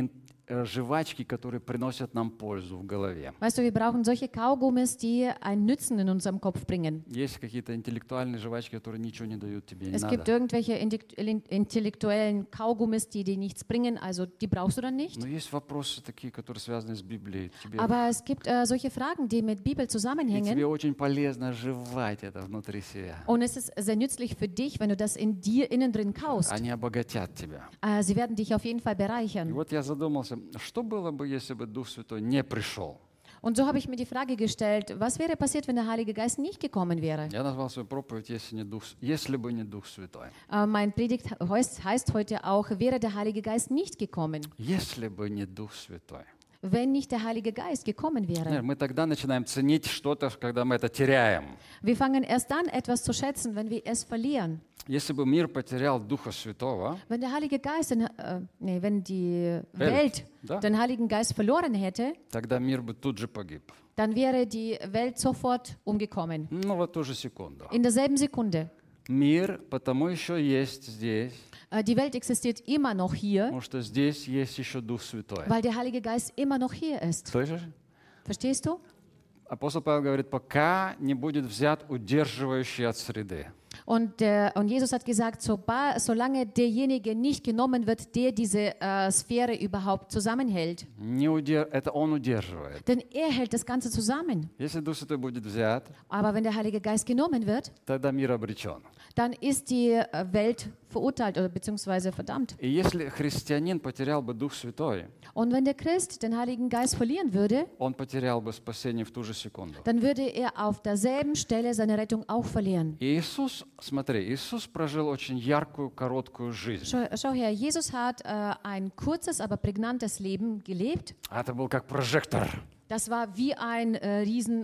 жвачки, которые приносят нам пользу в голове. Weißt du, wir brauchen solche Kaugummis, die einen Nutzen in unserem Kopf bringen. Есть какие-то интеллектуальные жвачки, которые ничего не dают тебе, не Es gibt надо. irgendwelche intellektuellen Kaugummis, die dir nichts bringen, also die brauchst du dann nicht. Но есть вопросы такие, которые связаны с Библией. Aber es gibt solche Fragen, die mit Bibel И тебе zusammenhängen. очень полезно жевать это внутри себя. Und es ist sehr nützlich für dich, wenn du das in dir innen drin kaust. Они обогатят тебя. Sie werden dich auf jeden Fall И bereichern. вот я задумался, что было бы, если бы Дух Святой не пришел? Und so habe ich mir die Frage gestellt, was wäre passiert, wenn der Heilige Geist nicht gekommen wäre? Я назвал свою проповедь «Если бы не Дух Святой». Mein Predigt heißt heute auch, wäre der Heilige Geist nicht gekommen, Если бы не Дух Святой. wenn nicht der Heilige Geist gekommen wäre. Мы тогда начинаем ценить что-то, когда мы это теряем. Wir fangen erst dann etwas zu schätzen, wenn wir es verlieren. Если бы мир потерял Духа Святого, Wenn der Heilige Geist, wenn die Welt да? den Heiligen Geist verloren hätte, тогда мир бы тут же погиб. dann wäre die Welt sofort umgekommen. Ну вот ту же секунду. In derselben Sekunde. Мир потому еще есть здесь, Die Welt existiert immer noch hier, потому что здесь есть еще Дух Святой. weil der Heilige Geist immer noch hier ist. Слышишь? Verstehst du? Апостол Павел говорит, пока не будет взят удерживающий от среды. Und Jesus hat gesagt, solange derjenige nicht genommen wird, der diese Sphäre überhaupt zusammenhält. Это он удерживает. Denn er hält das Ganze zusammen. Если Дух Святой будет взят, Aber wenn der Heilige Geist genommen wird, тогда мир обречен. dann ist die Welt verurteilt oder beziehungsweise verdammt. И если христианин потерял бы Дух Святой, Und wenn der Christ den Heiligen Geist verlieren würde, он потерял бы спасение в ту же секунду. dann würde er auf derselben Stelle seine Rettung auch verlieren. И Иисус, смотри, Иисус прожил очень яркую, короткую жизнь. Schau her, Jesus hat ein kurzes, aber prägnantes Leben gelebt. Это был как прожектор. Das war wie ein riesen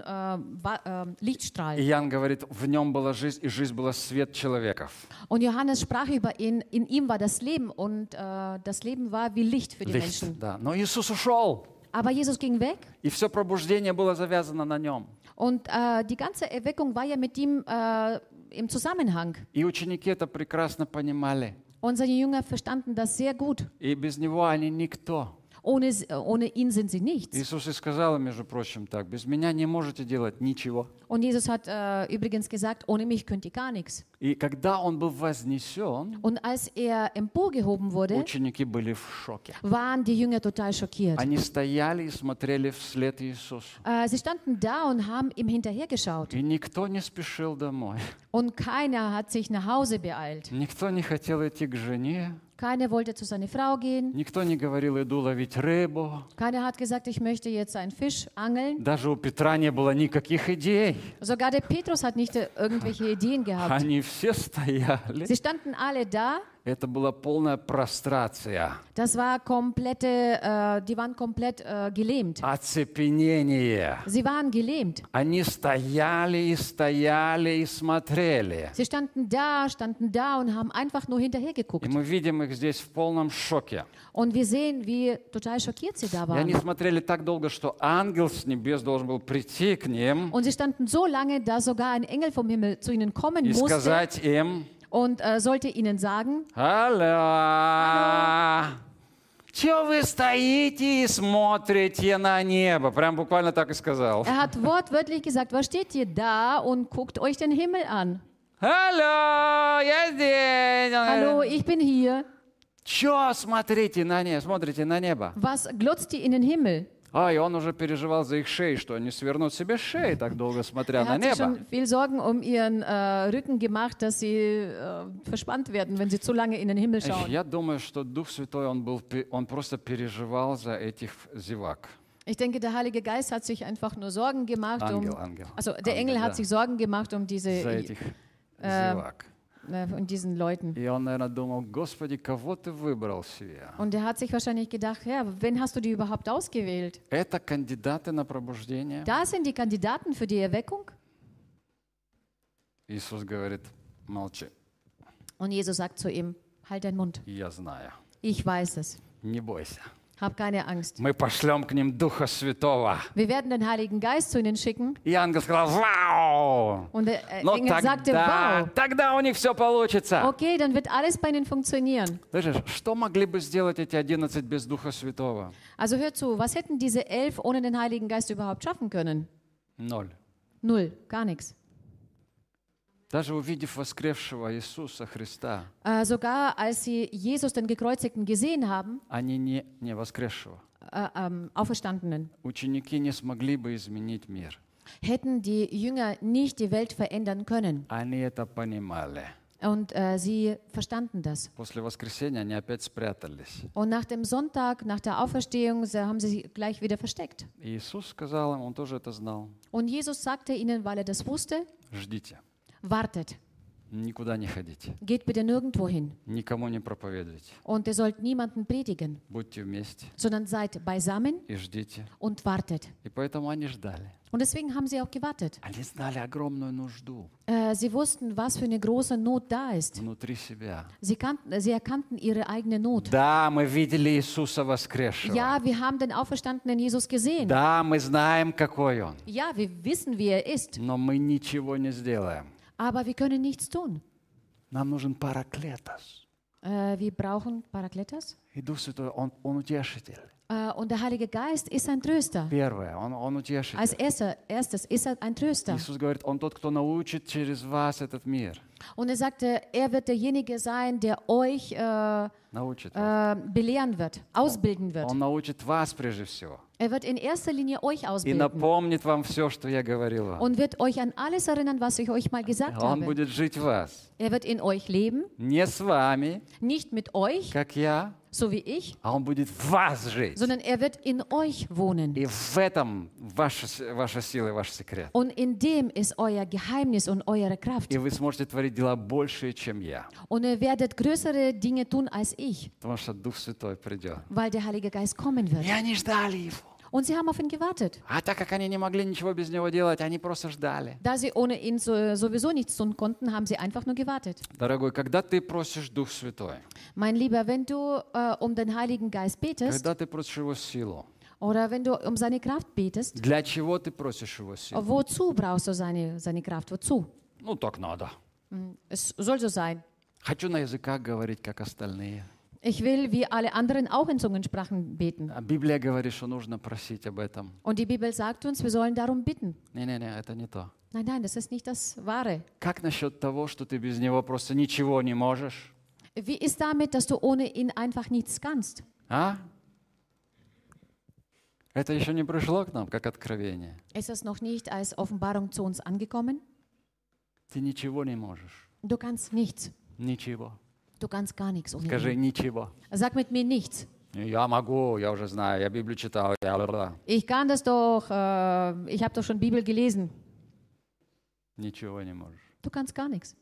Lichtstrahl. И Иоанн говорит, в нем была жизнь, и жизнь была свет человеков. Und Johannes sprach über ihn, in ihm war das Leben und das Leben war wie Licht für die Licht, Menschen. да. Но Иисус ушел, Aber Jesus ging weg и все пробуждение было завязано на нем. und die ganze Erweckung war ja mit ihm im Zusammenhang. И ученики это прекрасно понимали. Und seine Jünger verstanden das sehr gut. И без него они никто. Ohne ihn sind sie nichts. Иисус и сказал, между прочим, так, без меня не можете делать ничего. Und Jesus hat übrigens gesagt, ohne mich könnt ihr gar nichts. И когда он был вознесен, Und als er emporgehoben wurde, ученики были в шоке. waren die Jünger total schockiert. Они стояли и смотрели вслед Иисусу. Sie standen da und haben ihm hinterhergeschaut. И никто не спешил домой. Und keiner hat sich nach Hause beeilt. Никто не хотел идти к жене. Keiner wollte zu seiner Frau gehen. Никто не говорил, иду ловить рыбу. Keiner hat gesagt, ich möchte jetzt einen Fisch angeln. Даже у Петра не было никаких идей. Sogar der Petrus hat nicht irgendwelche Ideen gehabt. Они все стояли. Sie standen alle da. Это была полная прострация, Das war die waren komplett gelähmt. оцепенение. Sie waren gelähmt. Они стояли и смотрели. Sie standen da und haben einfach nur hinterher И geguckt. мы видим их здесь в полном шоке. Und wir sehen, wie total schockiert sie da И они waren. смотрели так долго, что ангел с небес должен был прийти к ним Und sie standen so lange, dass sogar ein Engel vom Himmel zu ihnen kommen и musste сказать им: und sollte ihnen sagen, «Алло! Чего вы стоите и смотрите на небо?» Прям буквально так и сказал. er hat wortwörtlich gesagt, was steht ihr da und guckt euch den Himmel an? «Алло! Я здесь!» Hallo, ich bin hier. Чё смотрите на небо? Was glotzt ihr in den Himmel? И он уже переживал за их шеи, что они свернут себе шеи, так долго смотря Er на hat sich небо. schon viel Sorgen um ihren Rücken gemacht, dass sie verspannt werden, wenn sie zu lange in den Himmel schauen. Я думаю, что Дух Святой, он просто переживал за этих зевак. Ich denke, der Heilige Geist hat sich einfach nur Sorgen gemacht. Ангел. Also der Engel hat sich Sorgen gemacht um За этих зевак. diesen Leuten. И он, наверное, думал: Господи, кого ты выбрал себе? Und er hat sich wahrscheinlich gedacht, ja, wen hast du die überhaupt ausgewählt? Это кандидаты на пробуждение? Da sind die Kandidaten für die Erweckung. Иисус говорит: молчи, Und Jesus sagt zu ihm, halt deinen Mund. я знаю. Ich weiß es. Не бойся. Hab keine Angst. Мы пошлем к ним Духа Святого. Wir werden den Heiligen Geist zu ihnen schicken. И ангел сказал, вау! Und der Но Engel sagte, wow. тогда у них все получится. Okay, dann wird alles bei ihnen funktionieren. Слышишь, что могли бы сделать эти 11 без Духа Святого? Also hör zu, was hätten diese 11 ohne den Heiligen Geist überhaupt schaffen können? 0. Null, gar nichts. Даже увидев воскресшего Иисуса Христа, Sogar als sie Jesus, den Gekreuzigten, gesehen haben, они не воскресшего. Auferstandenen, Ученики не смогли бы изменить мир. hätten die Jünger nicht die Welt verändern können. Они это понимали. Und sie verstanden das. После воскресения они опять спрятались. Und nach dem Sonntag, nach der Auferstehung, haben sie sich gleich wieder versteckt. И Иисус сказал им, он тоже это знал, Und Jesus sagte ihnen, weil er das wusste, ждите, wartet, никуда не ходите, geht bitte nirgendwo hin. никому не проповедуйте, Und ihr sollt niemanden predigen, будьте вместе sondern seid beisammen и ждите. und wartet. И поэтому они ждали. Und deswegen haben sie auch gewartet. Они знали огромную нужду Sie wussten, was für eine große Not da ist. внутри себя. Sie erkannten ihre eigene Not. Да, мы видели Иисуса воскресшего. Ja, wir haben den auferstandenen Jesus gesehen. Да, мы знаем, какой Он. Ja, wir wissen, wie er ist. Но мы ничего не сделаем. Aber wir können nichts tun. Нам нужен Параклетос. Wir brauchen Parakletos. И Дух Святой, Он утешитель. Und der Heilige Geist ist ein Tröster. Первое, Он утешитель. Als erstes ist er ein Tröster. Иисус говорит, Он тот, кто научит через вас этот мир. Und er sagte, er wird derjenige sein, der euch Научит вас. belehren wird, ausbilden wird. Он научит вас прежде всего. Er wird in erster Linie euch И ausbilden напомнит вам все, что я говорил вам. und wird euch an alles erinnern, was ich euch mal gesagt Он habe. будет жить в вас. Er wird in euch leben, Не с вами, nicht mit euch, как я, so wie ich, а Он будет в вас жить. sondern er wird in euch wohnen. И в этом ваша сила и ваш секрет. Und in dem ist euer Geheimnis und eure Kraft. И вы сможете творить дела большие, чем я. Und ihr werdet größere Dinge tun als ich, Потому что Дух Святой придет. weil der Heilige Geist kommen wird. И они ждали Его. Und sie haben auf ihn gewartet. А так как они не могли ничего без Него делать, они просто ждали. Da sie ohne ihn sowieso nichts tun konnten, haben sie einfach nur gewartet. Дорогой, когда ты просишь Дух Святой, Mein Lieber, wenn du um den Heiligen Geist betest когда ты просишь Его силу, oder wenn du um seine Kraft betest, для чего ты просишь Его силу? wozu brauchst du seine Kraft? Wozu? Ну, так надо. Es soll so sein. Хочу на языках говорить, как остальные. Ich will wie alle anderen auch in Zungensprachen beten. А Библия говорит, что нужно просить об этом. Und die Bibel sagt uns, wir sollen darum bitten. Не-не-не, это не то. Nein, nein, das ist nicht das Wahre. Как насчет того, что ты без Него просто ничего не можешь? Wie ist damit, dass du ohne ihn einfach nichts kannst? А? Это еще не пришло к нам, как откровение. Ist es noch nicht als Offenbarung zu uns angekommen? Ты ничего не можешь. Du kannst nichts. Ничего. Du kannst gar nichts ohne Скажи ihn. ничего. Sag mit mir nichts. Я могу, я уже знаю, я Библию читал. Ich kann das doch, ich habe doch schon Bibel gelesen. Ничего не можешь. Du kannst gar nichts.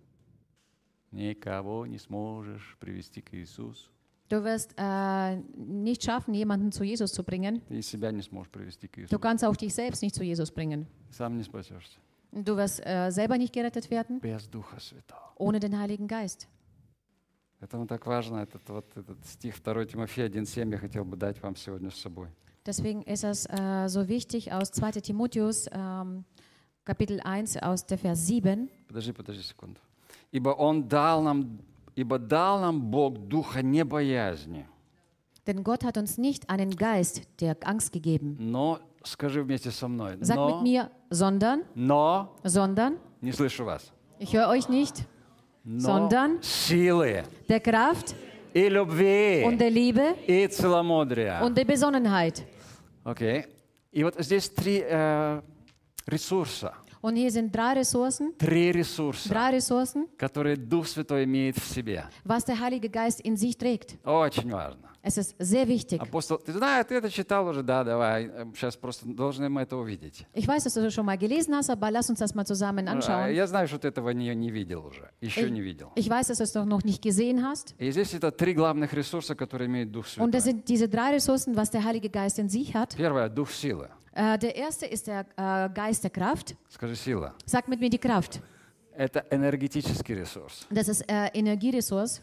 Никого не сможешь привести к Иисусу. Du wirst nicht schaffen, jemanden zu Jesus zu bringen. Ты и себя не сможешь привести к Du Иисусу. kannst auch dich selbst nicht zu Jesus bringen. Сам не спасешься. Du wirst selber nicht gerettet werden Без Духа Святого. ohne den Heiligen Geist. Поэтому так важно, этот стих 2 Тимофея 1,7 я хотел бы дать вам сегодня с собой. Deswegen ist es so wichtig aus 2. Timotheus, Kapitel 1, aus der Vers 7. Подожди секунду. Ибо дал нам Бог духа не боязни, Denn Gott hat uns nicht einen Geist der Angst gegeben. но, скажи вместе со мной, Sag mit mir, sondern, не слышу вас, ich höre euch nicht, но sondern силы der Kraft и любви und der Liebe и целомудрия. und der Besonnenheit. Окей. И вот здесь три ресурса. Und hier sind drei Ressourcen, которые Дух Святой имеет в себе. was der Heilige Geist in sich trägt. Очень важно. Es ist sehr wichtig. Апостол, ты знаешь, ты это читал уже, да, давай, сейчас просто должны мы это увидеть. Ich weiß, dass du das schon mal gelesen hast, aber lass uns das mal zusammen anschauen. Я знаю, что ты этого не видел уже, еще не видел. Ich weiß, dass du es doch noch nicht gesehen hast. И здесь это три главных ресурса, которые имеет Дух Святой. Und das sind diese drei Ressourcen, was der Heilige Geist in sich hat. Первое, Дух силы. Der erste ist der Geist der Kraft. Скажи, сила. Sag mit mir die Kraft. Это энергетический ресурс. Das ist Energieressource.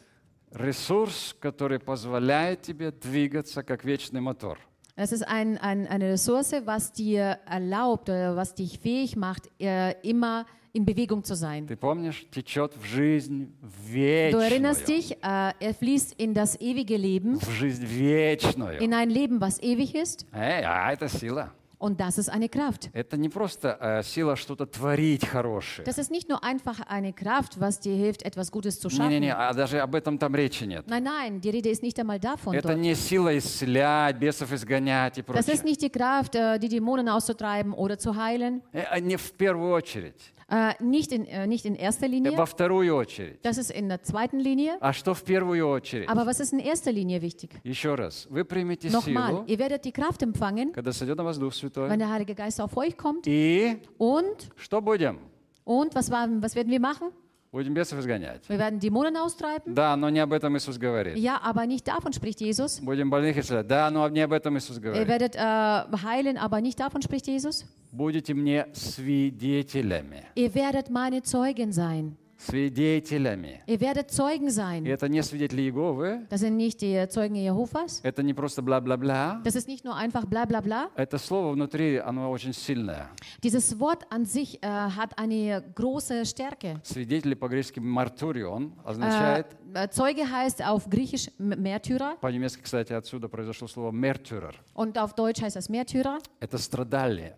ресурс, который позволяет тебе двигаться как вечный мотор. Es ist eine Ressource, was dir erlaubt oder was dich fähig macht, immer in Bewegung zu sein. Ты помнишь, течет в жизнь Du erinnerst вечную. dich, er fließt in das ewige Leben, В жизнь вечную. in ein Leben, was ewig ist. Это сила. Und das ist eine Kraft. Это не просто сила что-то творить хорошее. Das ist nicht nur einfach eine Kraft, was dir hilft, etwas Gutes zu Не-не-не, schaffen. даже об этом там речи нет. Nein, nein, die Rede ist nicht einmal davon Это dort. не сила исцелять, бесов изгонять и Das ist прочее. nicht die Kraft, die Dämonen auszutreiben oder zu heilen. Не в первую очередь, Nicht in erster Linie. во вторую очередь. Das ist in der zweiten Linie. А что в первую очередь? Aber was ist in erster Linie wichtig? Еще раз, вы примете Nochmal, силу, ihr werdet die Kraft empfangen, когда сойдет на вас Дух Святой. wenn der Heilige Geist auf euch kommt. И Und что будем? was werden wir machen? Будем бесов изгонять. Wir werden Dämonen austreiben. Да, но не об этом Иисус говорит. Ja, aber nicht davon spricht Jesus. Будем больных исцелять. Да, но не об этом Иисус Ihr говорит. werdet heilen, aber nicht davon spricht Jesus. Будете мне свидетелями. Ihr werdet meine Zeugen sein. Свидетелями. Ihr werdet Zeugen И sein. это не свидетели Иеговы, Das sind nicht die Zeugen Jehovas. это не просто бла-бла-бла. Das ist nicht nur einfach bla bla bla. Это слово внутри, оно очень сильное. Dieses Wort an sich hat eine große Stärke. Свидетели по-гречески «мартурион» означает, Zeuge heißt auf Griechisch Märtyrer по-немецки, кстати, отсюда произошло слово «мертюрер». und auf Deutsch heißt das Märtyrer. Это страдать,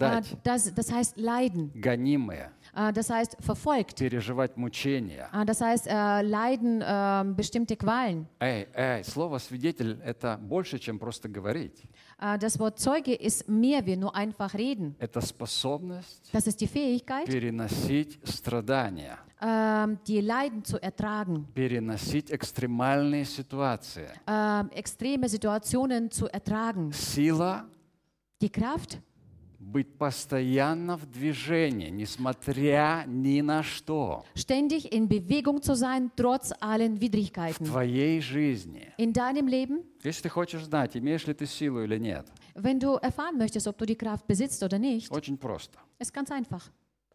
Das heißt Leiden. гонимые, Das heißt verfolgt. переживать мучения. Das heißt leiden bestimmte Qualen. Слово «свидетель» — это больше, чем просто говорить. Das Wort Zeuge ist mehr wie nur einfach reden. Это способность Das ist die Fähigkeit, переносить страдания, die Leiden zu ertragen, переносить экстремальные ситуации. extreme Situationen zu ertragen. Сила Die Kraft, быть постоянно в движении, несмотря ни на что, ständig in Bewegung zu sein, trotz allen в Widrigkeiten. твоей жизни. In deinem Leben, Если ты хочешь знать, имеешь ли ты силу или нет, wenn du erfahren möchtest, ob du die Kraft besitzt oder nicht, очень просто. ist ganz einfach.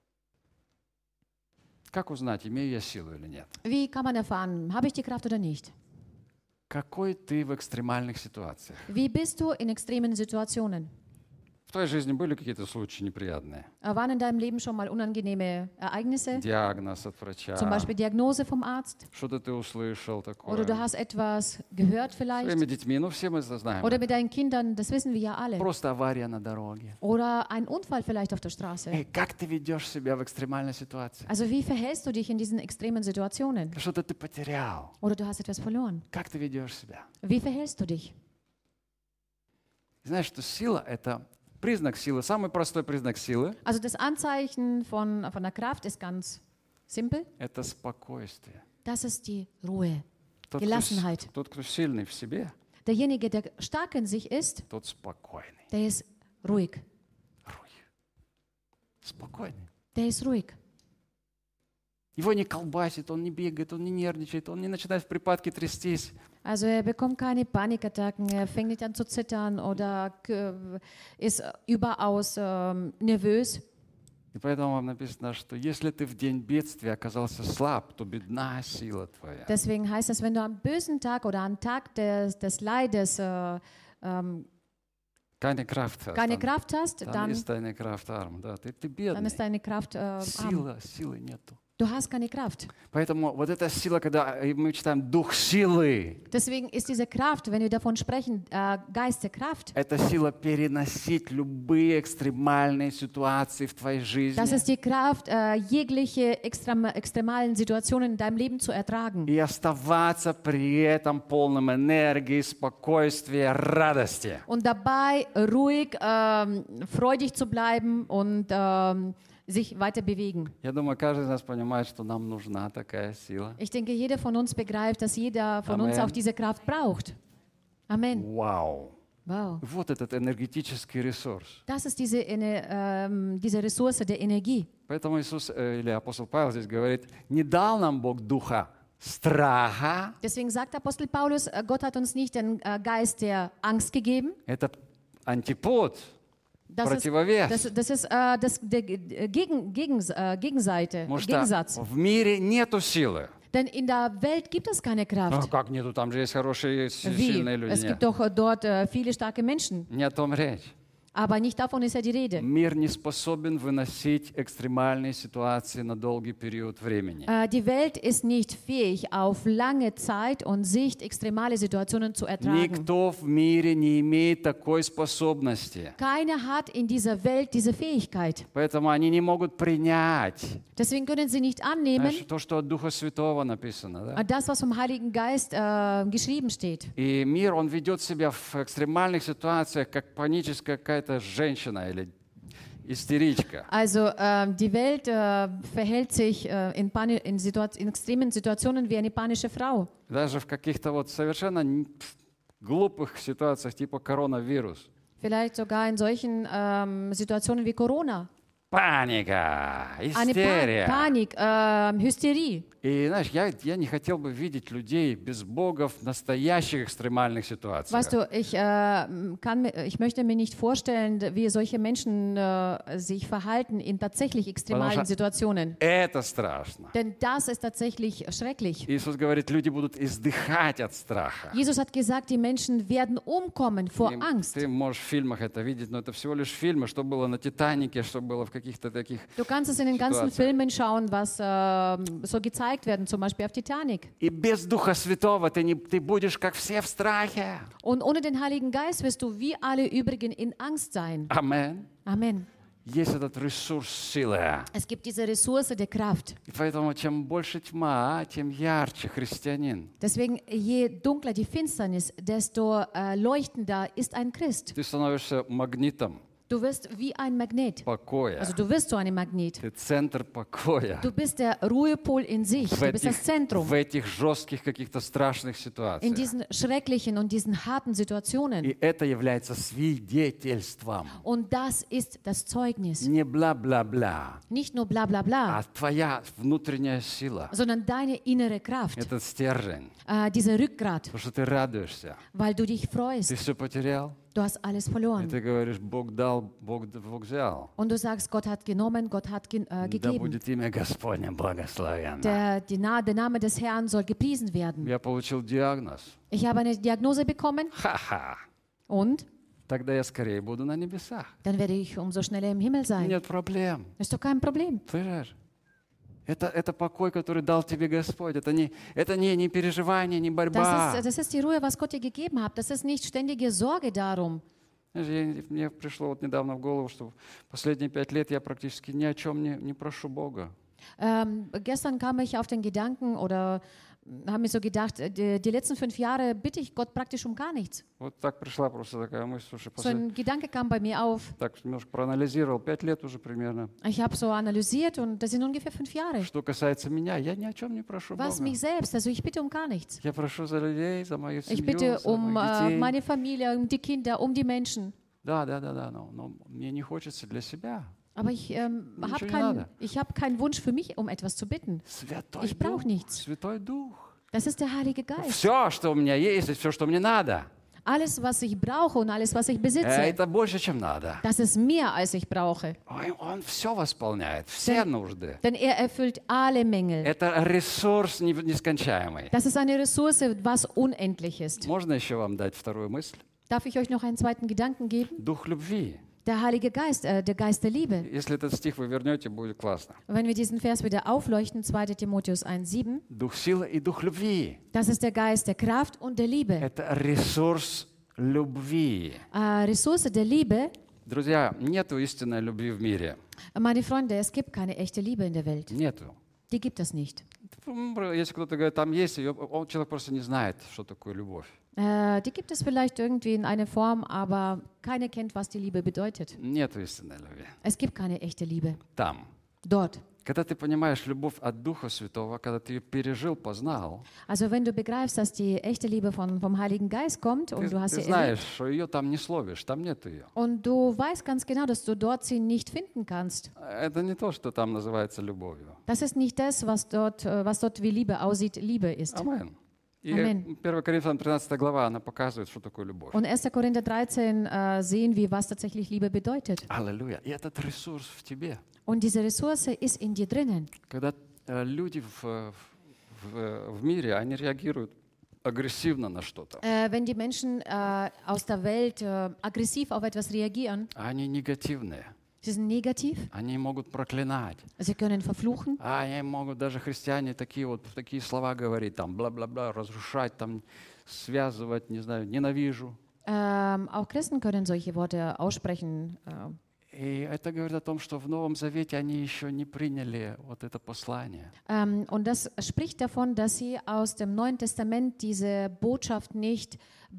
Как узнать, имею я силу или нет? Wie kann man erfahren, habe ich die Kraft oder nicht? Какой ты в экстремальных ситуациях? Wie bist du in extremen Situationen? В твоей жизни были какие-то случаи неприятные? Waren in deinem Leben schon mal unangenehme Ereignisse? Диагноз от врача, Zum Beispiel Diagnose vom Arzt? что-то ты услышал Oder такое. du hast etwas gehört vielleicht? Своими детьми, ну все мы это знаем. Oder mit deinen Kindern, das wissen wir ja alle. Просто авария на дороге. Oder ein Unfall vielleicht auf der Straße. Как ты ведешь себя в экстремальной ситуации? Also wie verhältst du dich in diesen extremen Situationen? Что-то ты потерял. Oder du hast etwas verloren. Как ты ведешь себя? Wie verhältst du dich? Знаешь, что сила — это признак силы, самый простой признак силы Also das Anzeichen von der Kraft ist ganz simpel. — это спокойствие. Das ist die Ruhe, Тот, Gelassenheit. тот, кто сильный в себе, Derjenige, der stark in sich ist, тот спокойный. der ist ruhig. Руй. Спокойный. Der ist ruhig. Его не колбасит, он не бегает, он не нервничает, он не начинает в припадке трястись. Also er bekommt keine Panikattacken, er fängt nicht an zu zittern oder ist überaus nervös. И поэтому вам написано, что если ты в день бедствия оказался слаб, то бедна сила твоя. Deswegen heißt es, wenn du am bösen Tag oder am Tag des Leides Keine Kraft hast, keine Kraft hast, dann dann ist deine Kraft arm. Да, ты dann бедный. ist deine Kraft arm. Силы нету. Du hast keine Kraft. Поэтому вот эта сила, когда мы читаем «дух силы», Deswegen ist diese Kraft, wenn wir davon sprechen, Geist der Kraft, это сила переносить любые экстремальные ситуации в твоей жизни das ist die Kraft, jegliche extremalen Situationen in deinem Leben zu ertragen. и оставаться при этом полным энергии, спокойствия, радости. Und dabei ruhig, freudig zu bleiben und sich weiter bewegen. Я думаю, каждый из нас понимает, что нам нужна такая сила. Ich denke, jeder von uns begreift, dass jeder von uns Amen. auch diese Kraft braucht. Amen. Вау! Wow. Вот этот энергетический ресурс. Das ist diese Ressource der Energie. Поэтому Иисус или апостол Павел здесь говорит, не дал нам Бог духа страха. Deswegen sagt Apostel Paulus, Gott hat uns nicht den Geist der Angst gegeben. Это антипод, противовес. Das ist der Gegenseite, Потому что Gegensatz. в мире нету силы. Denn in der Welt gibt es keine Ну, Kraft. как нету? Там же есть хорошие, Wie? сильные люди. Es gibt doch dort viele starke Menschen. Не о том речь. Aber nicht davon ist ja die Rede. Мир не способен выносить экстремальные ситуации на долгий период времени. Die Welt ist nicht fähig, auf lange Zeit und Sicht extremale Situationen zu ertragen. Никто в мире не имеет такой способности. Keiner hat in dieser Welt diese Fähigkeit. Поэтому они не могут принять Deswegen können sie nicht annehmen, то, что от Духа Святого написано. Да? das, was vom Heiligen Geist geschrieben steht. И мир, он ведет себя в экстремальных ситуациях, как паническая какая-то женщина или истеричка. Also die Welt verhält sich in extremen Situationen wie eine panische Frau. Даже в каких-то вот совершенно глупых ситуациях, типа коронавирус. Vielleicht sogar in solchen Situationen wie Corona. Паника, Eine истерия. Panik, Hysterie. И знаешь, я не хотел бы видеть людей без Бога в настоящих экстремальных ситуациях. Weißt du, ich möchte mir nicht vorstellen, wie solche Menschen sich verhalten in tatsächlich extremalen Situationen. Это страшно. Denn das ist tatsächlich schrecklich. Иисус говорит, люди будут издыхать от страха. Jesus hat gesagt, die Menschen werden umkommen vor Angst. Ты можешь в фильмах это видеть, но это всего лишь фильмы, что было на «Титанике», что было в каких-то таких Du kannst es in den ganzen Situationen. Filmen schauen, was so gezeigt werden, zum Beispiel auf Titanic. И без Духа Святого ты будешь как все в страхе. Und ohne den Heiligen Geist wirst du wie alle übrigen in Angst sein. Амен. Amen. Есть этот ресурс силы. Es gibt diese Ressource der Kraft. И поэтому чем больше тьма, тем ярче христианин. Deswegen, je dunkler die Finsternis, desto leuchtender ist ein Christ. Ты становишься магнитом Du wirst wie ein Magnet. покоя. Also du wirst so ein Magnet. Ты центр покоя. Du bist der Ruhepol in sich. Du bist das Zentrum. В этих жестких каких-то страшных In ситуациях. diesen schrecklichen und diesen harten Situationen. И это является свидетельством. Und das ist das Zeugnis. Не бла-бла-бла, Nicht nur bla bla bla, а твоя внутренняя сила. sondern deine innere Kraft. Этот стержень. Dieser Rückgrat, Потому что ты радуешься. weil du dich Ты freust. все потерял. Du hast alles И verloren. ты говоришь, Бог дал, Бог взял. Und du sagst, Gott hat genommen, Gott hat Да gegeben. будет имя Господне благословенно. Der Name des Herrn soll gepriesen werden. Я получил диагноз. Ich habe eine Diagnose bekommen Ха-ха. und Тогда я скорее буду на небесах. dann werde ich umso schneller im Himmel sein. Нет проблем. Ist doch kein Problem. Понимаешь? Это покой, который дал тебе Господь. Это не переживание, не борьба. Das ist die Ruhe, was Gott dir gegeben hat. Das ist nicht ständige Sorge darum. Знаешь, мне пришло вот недавно в голову, что последние 5 лет я практически ни о чем не прошу Бога. Gestern kam ich auf den Gedanken oder habe mir so gedacht, die letzten 5 Jahre bitte ich Gott praktisch um gar nichts. Вот так пришла просто такая мысль. Слушай, So ein Gedanke kam bei mir auf. так немножко проанализировал, 5 лет уже примерно. Ich habe so analysiert und das sind ungefähr 5 Jahre. Что касается меня, я ни о чем не прошу Was Бога. mich selbst, also ich bitte um gar nichts. Я прошу за людей, за мою Ich семью, bitte за um моих детей. meine Familie, um die Kinder, um die Menschen. Да, но мне не хочется для себя. Aber ich habe keinen Wunsch für mich, um etwas zu bitten. Святой Ich brauche Дух, nichts. Святой Дух. Das ist der Heilige Geist. Все, что у меня есть, и все, что мне надо, Alles, was ich brauche und alles, was ich besitze, это больше, чем надо. das ist mehr, als ich brauche. Он все восполняет, все нужды. Denn er erfüllt alle Mängel. Это ресурс нескончаемый. Das ist eine Ressource, was unendlich ist. Можно еще вам дать вторую мысль? Darf ich euch noch einen zweiten Gedanken geben? Дух любви. Der Heilige Geist, der Geist der Liebe. Если этот стих вы вернете, будет классно. Wenn wir diesen Vers wieder aufleuchten, 2. Timotheus 1,7, Дух силы и дух любви. das ist der Geist der Kraft und der Liebe. Это ресурс любви. Ressource der Liebe, Друзья, нету истинной любви в мире. meine Freunde, es gibt keine echte Liebe in der Welt. Нету. Die gibt es nicht. Если кто-то говорит, там есть, человек просто не знает, что такое любовь. Die gibt es vielleicht irgendwie in einer Form, aber keiner kennt, was die Liebe bedeutet. Нету истинной любви. Es gibt keine echte Liebe. Там. Dort. Когда ты понимаешь любовь от Духа Святого, когда ты ее пережил, познал, Also wenn du begreifst, dass die echte Liebe vom Heiligen Geist kommt und du hast ты sie знаешь, erlebt что ее там не словишь, там нету ее. und du weißt ganz genau, dass du dort sie nicht finden kannst. Это не то, что там называется любовью. Das ist nicht das, was dort wie Liebe aussieht, Liebe ist. Амен. И Амен. 1 Коринфянам 13 глава, она показывает, что такое любовь. Und 1. Korinther 13 sehen wir, was tatsächlich Liebe bedeutet. Аллилуйя. И этот ресурс в тебе. Und diese Ressource ist in dir drinnen. Когда люди в в мире, они реагируют агрессивно на что-то. Wenn die Menschen aus der Welt aggressiv auf etwas reagieren, Они негативные. sie sind negativ, Они могут проклинать. sie können verfluchen, Они могут даже христиане такие слова говорить, там, бла-бла-бла, разрушать, там, связывать, не знаю, ненавижу. auch Christen können solche Worte aussprechen. И это говорит о том, что в Новом Завете они еще не приняли вот это послание. Und das spricht davon, dass sie aus dem Neuen Testament diese Botschaft nicht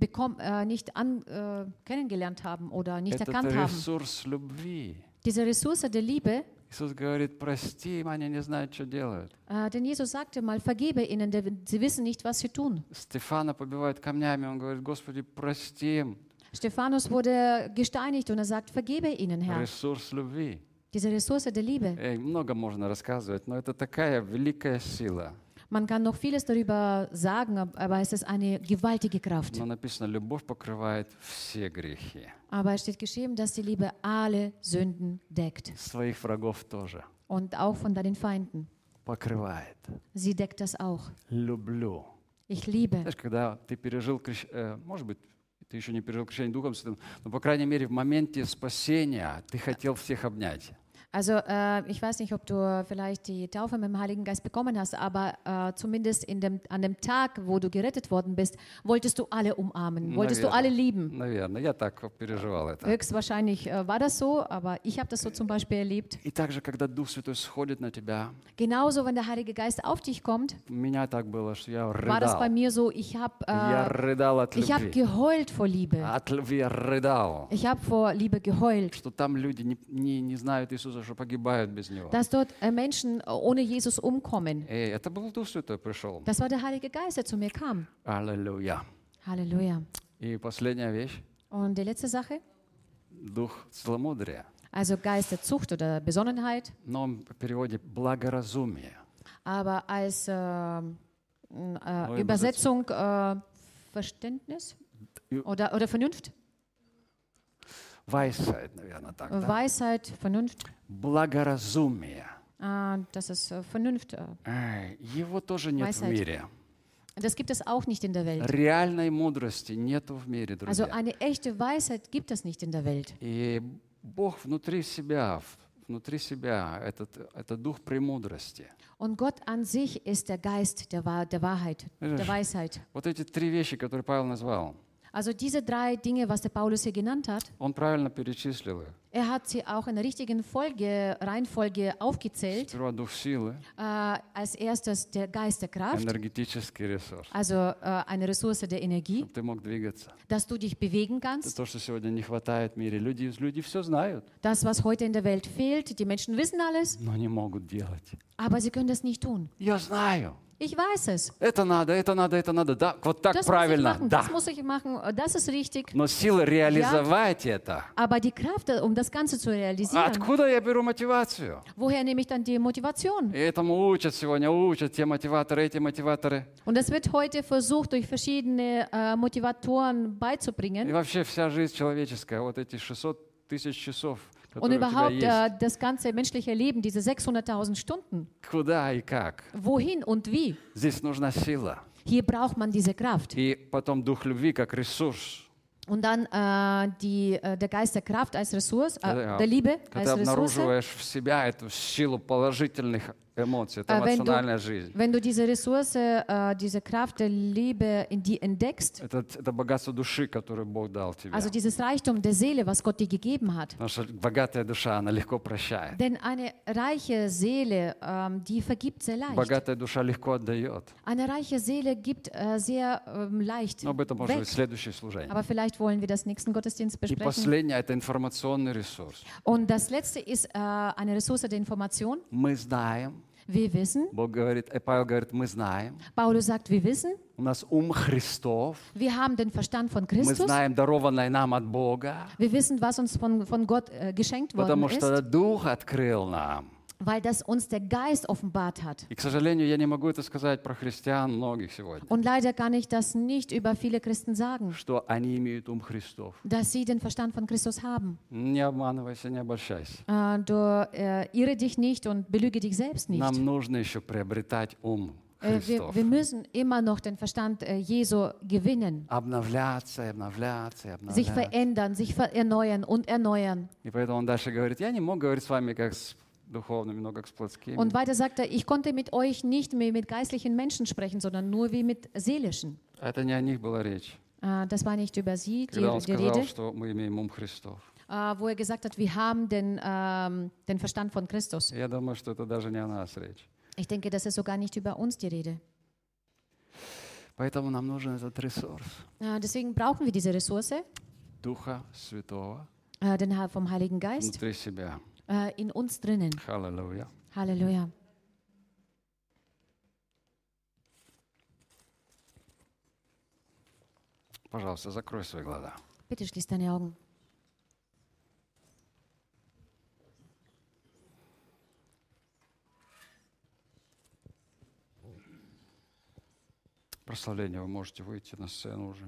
kennengelernt haben oder nicht Этот erkannt haben. ресурс любви. Diese Ressource der Liebe, Иисус говорит, прости им, они не знают, что делают. denn Jesus sagte mal, vergebe ihnen, denn sie wissen nicht, was sie tun. Стефана побивают камнями, он говорит, Господи, прости им. Stephanus wurde gesteinigt und er sagt, vergebe ihnen, Herr. Ресурс любви. Diese Ressource der Liebe. Много можно рассказывать, но это такая великая сила. Man kann noch vieles darüber sagen, aber es ist eine gewaltige Kraft. Но написано, любовь покрывает все грехи. Aber es steht geschrieben, dass die Liebe alle Sünden deckt. Своих врагов тоже Und auch von deinen Feinden. покрывает. Sie deckt das auch. Люблю. Ich liebe. Знаешь, когда ты пережил, может быть, ты еще не пережил крещение Духом Святым, но, по крайней мере, в моменте спасения ты хотел всех обнять. Also ich weiß nicht, ob du vielleicht die Taufe mit dem Heiligen Geist bekommen hast, aber zumindest an dem Tag, wo du gerettet worden bist, wolltest du alle umarmen, wolltest du alle lieben. Наверное, я так переживал это. Höchstwahrscheinlich war das so, aber ich habe das so zum Beispiel erlebt. И также, когда Дух Святой сходит на тебя, Genauso, wenn der Heilige Geist auf dich kommt, у меня так было, что я war das bei рыдал. mir so, Я рыдал от ich habe любви. geheult vor Liebe. От любви я рыдал. Ich habe vor Liebe geheult, Что там люди не знают Иисуса, что погибают без Него. dass dort Menschen ohne Jesus umkommen. Это был Дух Святой пришел. Das war der Heilige Geist, der zu mir kam. Аллилуйя. Halleluja. И последняя вещь. Und die letzte Sache, Дух целомудрия. also Geist der Zucht oder Besonnenheit, В новом переводе благоразумие. aber als Übersetzung. Übersetzung Verständnis oder Vernunft. Weisheit, наверное, так. Да? Weisheit, Vernunft, Благоразумие. das ist Vernunft. Его тоже нет в Weisheit. мире. Das gibt es auch nicht in der Welt. Реальной мудрости нету в мире, Also друзья. eine echte Weisheit gibt es nicht in der Welt. И Бог внутри себя это дух премудрости. Und Gott an sich ist der Geist der Wahrheit, der Weisheit. Вот эти три вещи, которые Павел назвал, Also diese drei Dinge, was der Paulus hier genannt hat, он правильно перечислил их. er hat sie auch in der richtigen Reihenfolge aufgezählt. Сперва дух силы, Als erstes der Geist der Kraft, энергетический ресурс, also eine Ressource der Energie, чтобы ты мог двигаться. dass du dich bewegen Это kannst. то, что сегодня не хватает в мире. Люди все знают, Das, was heute in der Welt fehlt, die Menschen wissen alles, но не могут делать. aber sie können das nicht tun. Я знаю. Ich weiß es. Это надо. Да, вот так Das muss ich правильно. machen, Да. das muss ich machen, das ist richtig. Но сила реализовать это. Aber die Kraft, um das Ganze zu realisieren, Откуда я беру мотивацию? woher nehme ich dann die Motivation? И этому учат те мотиваторы, эти мотиваторы. Und das wird heute versucht, durch verschiedene Motivatoren И beizubringen. вообще вся жизнь человеческая, вот эти 600 тысяч часов, Und которые у тебя überhaupt есть. das ganze menschliche Leben, diese 600.000 Stunden. Куда и как? Wohin und wie? Здесь нужна сила. Hier braucht man diese Kraft. И потом дух любви как ресурс. Und dann der Geist der Kraft als Ressource, Ja. der Liebe Когда als Ressource. обнаруживаешь в себя эту силу положительных эмоций, это Wenn эмоциональная жизнь. wenn du diese Ressource, diese Kraft der Liebe in die entdeckst, Это богатство души, которое Бог дал тебе. also dieses Reichtum der Seele, was Gott dir gegeben hat. Потому что богатая душа, она легко прощает. Denn eine reiche Seele, die vergibt sehr leicht. Богатая душа легко отдает. Eine reiche Seele gibt sehr leicht Но об этом может weg. быть следующее служение. Aber vielleicht wollen wir das nächsten Gottesdienst И besprechen. последнее – это информационный ресурс. Und das letzte ist eine Ressource der Information. Мы знаем, Wir wissen, Бог говорит, Павел говорит, мы знаем, Paulus sagt, wir wissen, у нас ум Христов, wir haben den Verstand von мы Christus. знаем, дарованное нам от Бога, Wir wissen, was uns von Gott geschenkt worden потому ist, что Дух открыл нам. weil das uns der Geist offenbart hat. И, к сожалению, я не могу это сказать про христиан многих сегодня, Und leider kann ich das nicht über viele Christen sagen, что они имеют ум Христов. dass sie den Verstand von Christus haben. Не обманывайся, не обольщайся. Du irre dich nicht und belüge dich selbst nicht. Нам нужно еще приобретать ум Христов. Wir müssen immer noch den Verstand Jesu gewinnen, Обновляться, и обновляться, и sich обновляться. verändern, sich erneuern und erneuern. И поэтому он дальше говорит, я не мог говорить с вами как с духовными, но как с плотскими. Und weiter sagt er, ich konnte mit euch nicht mehr mit geistlichen Menschen sprechen, sondern nur wie mit seelischen. Это не о них была речь. Das war nicht über sie, Когда он die сказал, Rede, что мы имеем ум Христов. wo er gesagt hat, wir haben den Verstand von Christus. Я думаю, что это даже не о нас речь. Ich denke, das ist sogar nicht über uns die Rede. Поэтому нам нужен этот ресурс Deswegen brauchen wir diese Ressource, Духа Святого vom Heiligen Geist, внутри себя. in uns drinnen. Аллилуйя. Halleluja. Пожалуйста, закрой свои глаза. Bitte schließ deine Augen. Прославление, вы можете выйти на сцену уже.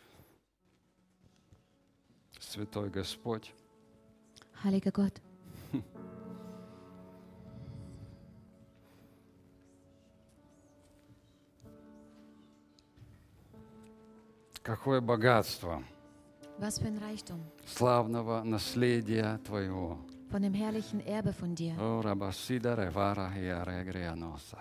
Святой Господь, Heiliger Gott, какое богатство was für ein Reichtum славного наследия Твоего. von dem herrlichen Erbe von dir. О, рабасида ревара хиарегрианоса.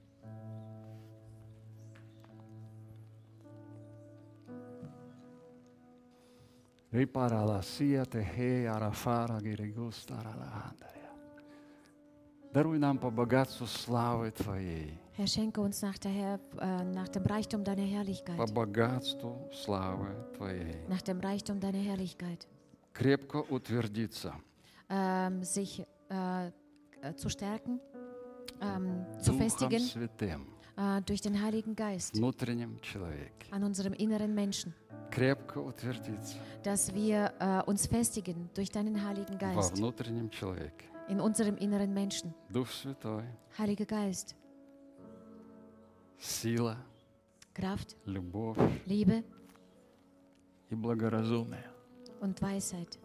Рипараласия техе арафара гиригустаралаандаря. Даруй нам по богатству славы Твоей, Herr, schenke uns nach dem Reichtum deiner по Herrlichkeit, богатству славы Твоей. nach dem Reichtum deiner Herrlichkeit, Крепко утвердиться sich zu stärken, zu Духом festigen Святым durch den Heiligen Geist внутреннем человеке. an unserem inneren Menschen, Крепко утвердиться dass wir uns festigen durch deinen Heiligen во Geist внутреннем человеке. in unserem inneren Menschen. Дух Святой, Heiliger Geist, сила, Kraft, любовь Liebe и благоразумие. und Weisheit.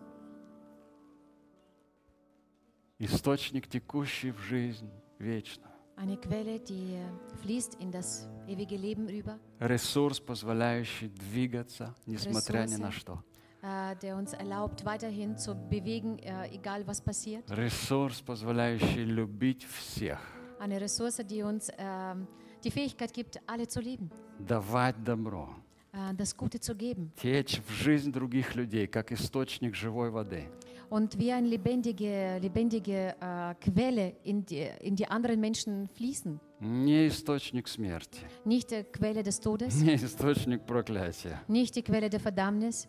Источник, текущий в жизнь вечную. Eine Quelle, die fließt in das ewige Leben über, Ресурс, позволяющий двигаться, несмотря ни на что. der uns erlaubt, weiterhin zu bewegen, egal was passiert. Ресурс, позволяющий любить всех. Eine Ressource, die uns die Fähigkeit gibt, alle zu lieben, Давать добро. das Gute zu geben Течь в жизнь других людей, как источник живой воды. und wie eine lebendige Quelle in die anderen Menschen fließen. Не источник смерти, Nicht die Quelle des Todes, не источник проклятия. nicht die Quelle der Verdammnis,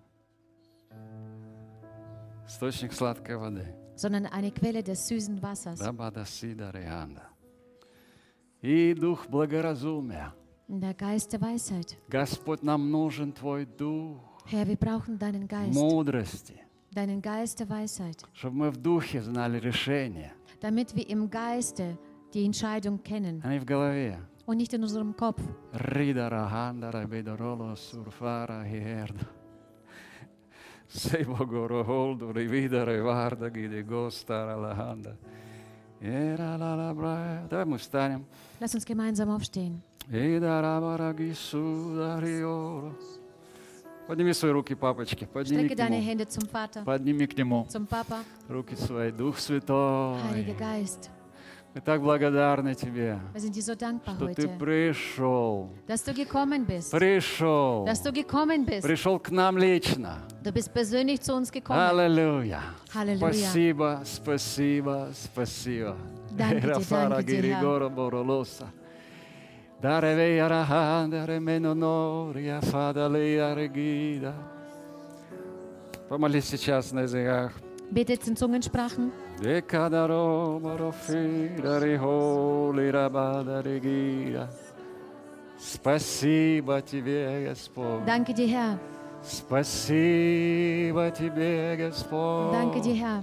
Источник сладкой воды. sondern eine Quelle des süßen Wassers. Рабадасида реанда. И дух благоразумия. Der Geist der Weisheit. Господь, нам нужен Твой дух Herr, wir brauchen deinen Geist, мудрости, deinen Geist der Weisheit, чтобы мы в духе знали решения, damit wir im Geiste die Entscheidung kennen а не в голове. und nicht in unserem Kopf. Рида раганда рабидороло сурфара хиерда. Сей богоро голду ривида реварда гиде гостара лаганда. Эра ла ла бра. Давай мы встанем. Lass uns gemeinsam aufstehen. Ида рабараги судариоро. Подними свои руки, папочки. Подними Strecke к deine нему. Hände zum Vater, Подними к нему. zum Papa. Руки свои. Дух Святой. Heiliger Geist, Мы так благодарны Тебе, wir sind dir so dankbar что Ты heute, пришел. dass du gekommen bist. Пришел. Dass du gekommen bist. Пришел к нам лично. Du bist persönlich zu uns gekommen. Аллилуйя. Halleluja. Спасибо, спасибо, спасибо. Danke dir, Рафара danke dir, Herr. Гиригора Боролоса. Даревея Раханда Ременонория Фадалея Регида. Помолись сейчас на языках. Betet in Zungensprachen. Декадаро Марофира Рихоли Рабада Регида. Спасибо Тебе, Господь. Danke dir, Herr. Спасибо Тебе, Господь. Danke dir, Herr.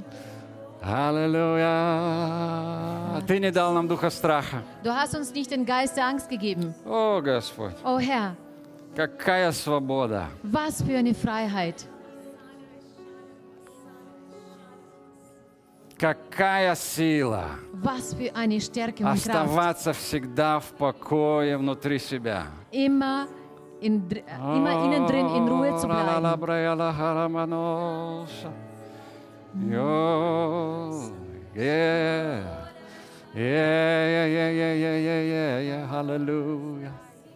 Аллилуйя. Ты не дал нам духа страха. Du hast uns nicht den Geist der Angst gegeben. О, Господь, Oh Herr, какая свобода. was für eine Freiheit. Какая сила Was für eine Stärke und Kraft. оставаться всегда в покое внутри себя. Immer innen drin in Ruhe zu bleiben. Hallelujah.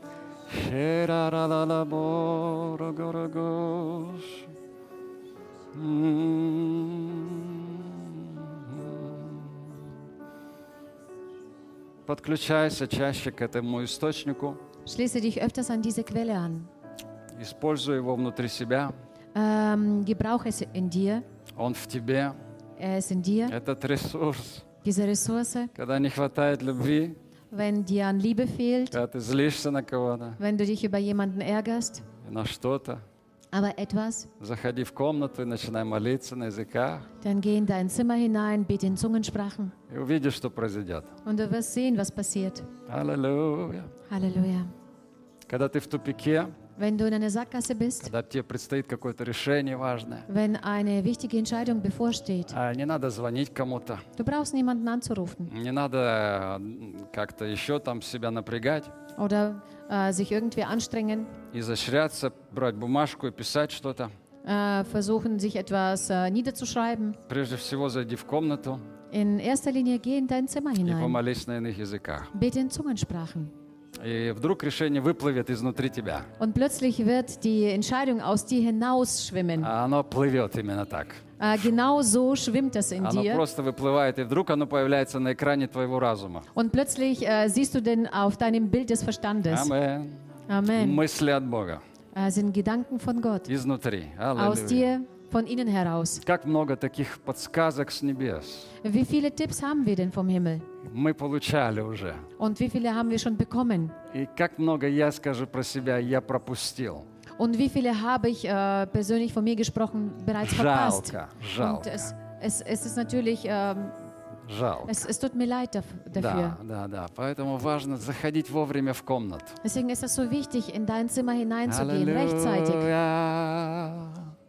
Подключайся чаще к этому источнику. Schließe dich öfters an diese Quelle an. Используй его внутри себя. Gebrauche es in dir. Он в тебе. Er ist in dir. Этот ресурс. Diese Ressource. Когда не хватает любви, Wenn dir an Liebe fehlt, когда ты злишься на кого-то, wenn du dich über jemanden ärgerst, на что-то, aber etwas, заходи в комнату и начинай молиться на языках. dann geh in dein Zimmer hinein, bete in Zungensprachen И увидишь, что произойдет. und du wirst sehen, was passiert. Аллилуйя. Halleluja. Когда ты в тупике, Wenn du in einer Sackgasse bist, когда тебе предстоит какое-то решение важное, wenn eine wichtige Entscheidung bevorsteht, не надо звонить кому-то, du brauchst niemanden anzurufen не надо как-то еще там себя напрягать, oder sich irgendwie anstrengen, изощряться, брать бумажку и писать что-то. versuchen, sich etwas niederzuschreiben. Прежде всего, зайди в комнату In erster Linie geh in dein Zimmer и hinein, помолись на иных языках. bete in Zungensprachen. И вдруг решение выплывет изнутри тебя. Und plötzlich wird die Entscheidung aus dir hinausschwimmen. А оно плывет именно так. Genau so schwimmt es in Оно dir. просто выплывает, и вдруг оно появляется на экране твоего разума. Und plötzlich siehst du den auf deinem Bild des Verstandes. Amen. Amen. Мысли от Бога. Sind Gedanken von Gott. Изнутри. Aus Аллилуйя. dir, von innen heraus. Как много таких подсказок с небес Wie viele Tipps haben wir denn vom Himmel? мы получали уже. Und wie viele haben wir schon bekommen? И как много я скажу про себя, я пропустил. Und wie viele habe ich persönlich von mir gesprochen bereits verpasst? Жалко, Und жалко, es ist natürlich, жалко. es tut mir leid dafür. Да. Поэтому важно заходить вовремя в комнату. Deswegen ist es so wichtig, in dein Zimmer hineinzugehen, rechtzeitig. Аллилуйя.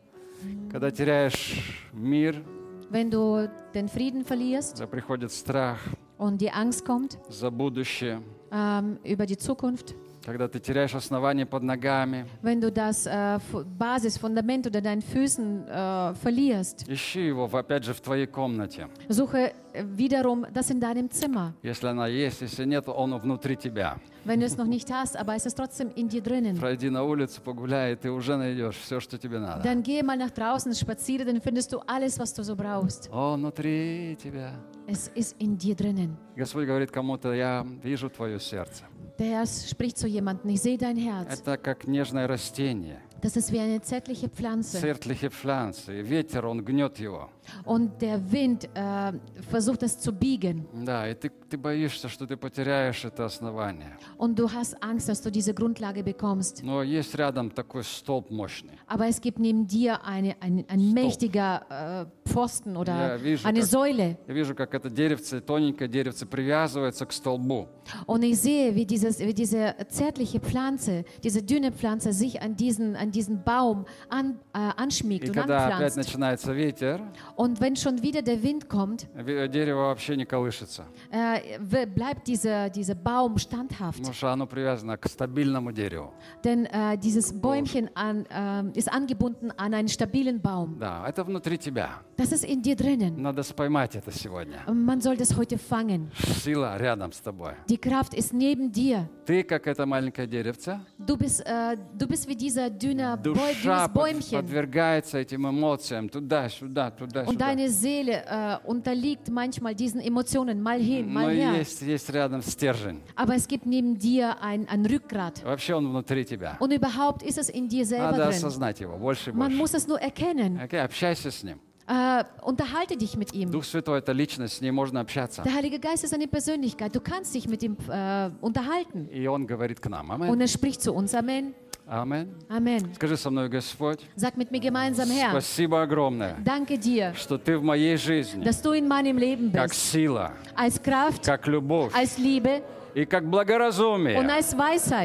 Когда теряешь мир, Wenn du den Frieden verlierst когда приходит страх und die Angst kommt за будущее, über die Zukunft, когда ты теряешь основание под ногами, wenn du das Basisfundament unter deinen Füßen verlierst, ищи его, опять же, в твоей комнате. suche wiederum das in deinem Zimmer. Если она есть, если нет, он внутри тебя. Wenn du es noch nicht hast, aber es ist trotzdem in dir drinnen. Пройди на улицу, погуляй, и ты уже найдешь все, что тебе надо. Dann gehe mal nach draußen, spaziere, dann findest du alles, was du so brauchst. Он внутри тебя. Es ist in dir drinnen. Господь говорит кому-то, я вижу твое сердце. Der Herr spricht zu jemandem, ich sehe dein Herz. Это как нежное растение. Das ist wie eine zärtliche Pflanze. Zärtliche Pflanze. И ветер, он гнет его. Und der Wind versucht es zu biegen. Да, и ты боишься, что ты потеряешь это основание. Und du hast Angst, dass du diese Grundlage bekommst. Но есть рядом такой столб мощный. Aber es gibt neben dir ein mächtiger Pfosten oder eine Säule. Я вижу, как это деревце, тоненькое деревце привязывается к столбу. Und ich sehe, wie diese zärtliche Pflanze, diese dünne Pflanze sich an diesen Baum anschmiegt И und когда опять anpflanzt. начинается ветер, Und wenn schon wieder der Wind kommt, дерево вообще не колышется. bleibt dieser Baum standhaft. Потому что оно привязано к стабильному дереву. Denn dieses Bäumchen ist angebunden an einen stabilen Baum. Да, это внутри тебя. Das ist in dir drinnen. Надо споймать это сегодня. Man soll das heute fangen. Сила рядом с тобой. Die Kraft ist neben dir. Ты, как это маленькое деревце, Du bist wie dieser душа dünnes Bäumchen. подвергается этим эмоциям туда-сюда, Und туда-сюда. deine Seele unterliegt manchmal diesen Emotionen, mal hin, Но mal her. есть рядом стержень. Aber es gibt neben dir ein Rückgrat. Вообще он внутри тебя. Und überhaupt ist es in dir selber Надо drin. осознать его больше и Man больше. muss es nur erkennen. Окей, общайся с ним. Unterhalte dich mit ihm. Дух Святой — это личность, с ней можно общаться. Der Heilige Geist ist eine Persönlichkeit. Du kannst dich mit ihm unterhalten. И он говорит к нам. Und Аминь. er spricht zu uns. Amen. Аминь. Amen. Скажи со мной, Господь, Sag mit mir gemeinsam, Herr, спасибо огромное, danke dir, что ты в моей жизни dass du in meinem Leben как bist. сила, Als Kraft, как любовь als Liebe и как und благоразумие. als Weisheit.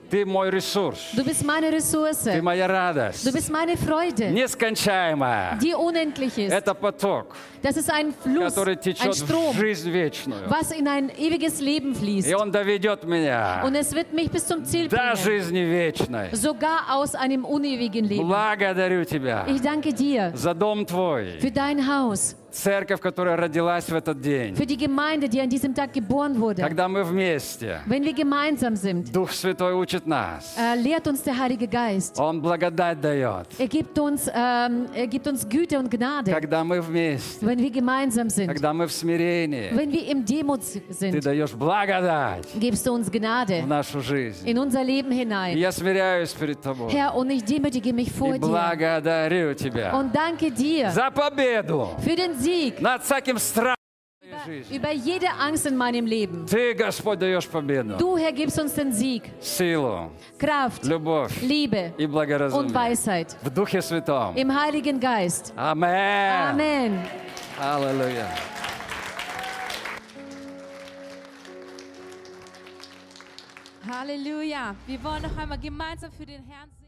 Ты мой ресурс. Du bist meine Ressource. Ты моя радость. Du bist meine Freude, Нескончаемая. die unendlich ist. Это поток, Das ist ein Fluss, который ein течет в Strom, жизнь вечную. was in ein ewiges Leben fließt. И он доведет меня Und es wird mich bis zum Ziel до bringen, жизни вечной. sogar aus einem unewigen Leben. Благодарю тебя Ich danke dir за дом твой, für dein Haus, церковь, которая родилась в этот день. für die Gemeinde, die an diesem Tag geboren wurde. Когда мы вместе, Wenn wir gemeinsam sind, Дух Святой учит нас. lehrt uns der Heilige Geist. Он благодать дает. Er gibt uns Güte und Gnade, Когда мы вместе, wenn wir gemeinsam sind. когда мы в смирении, Wenn wir im Demut Ты sind, даешь благодать gibst du uns в Gnade нашу жизнь. in unser Leben И hinein. я смиряюсь перед Тобой. Herr, und ich demütige mich vor И dir благодарю Тебя und danke dir за победу für den Sieg над всяким страхом в моей жизни. über jede Angst in meinem Leben. Ты, Господь, даешь победу, Du, Herr, gibst uns den Sieg, силу, Kraft, любовь Liebe и und благоразумие Weisheit в Духе Святом. im Heiligen Geist. Amen. Amen. Аллилуйя. Halleluja. Wir wollen noch einmal gemeinsam für den Herrn singen.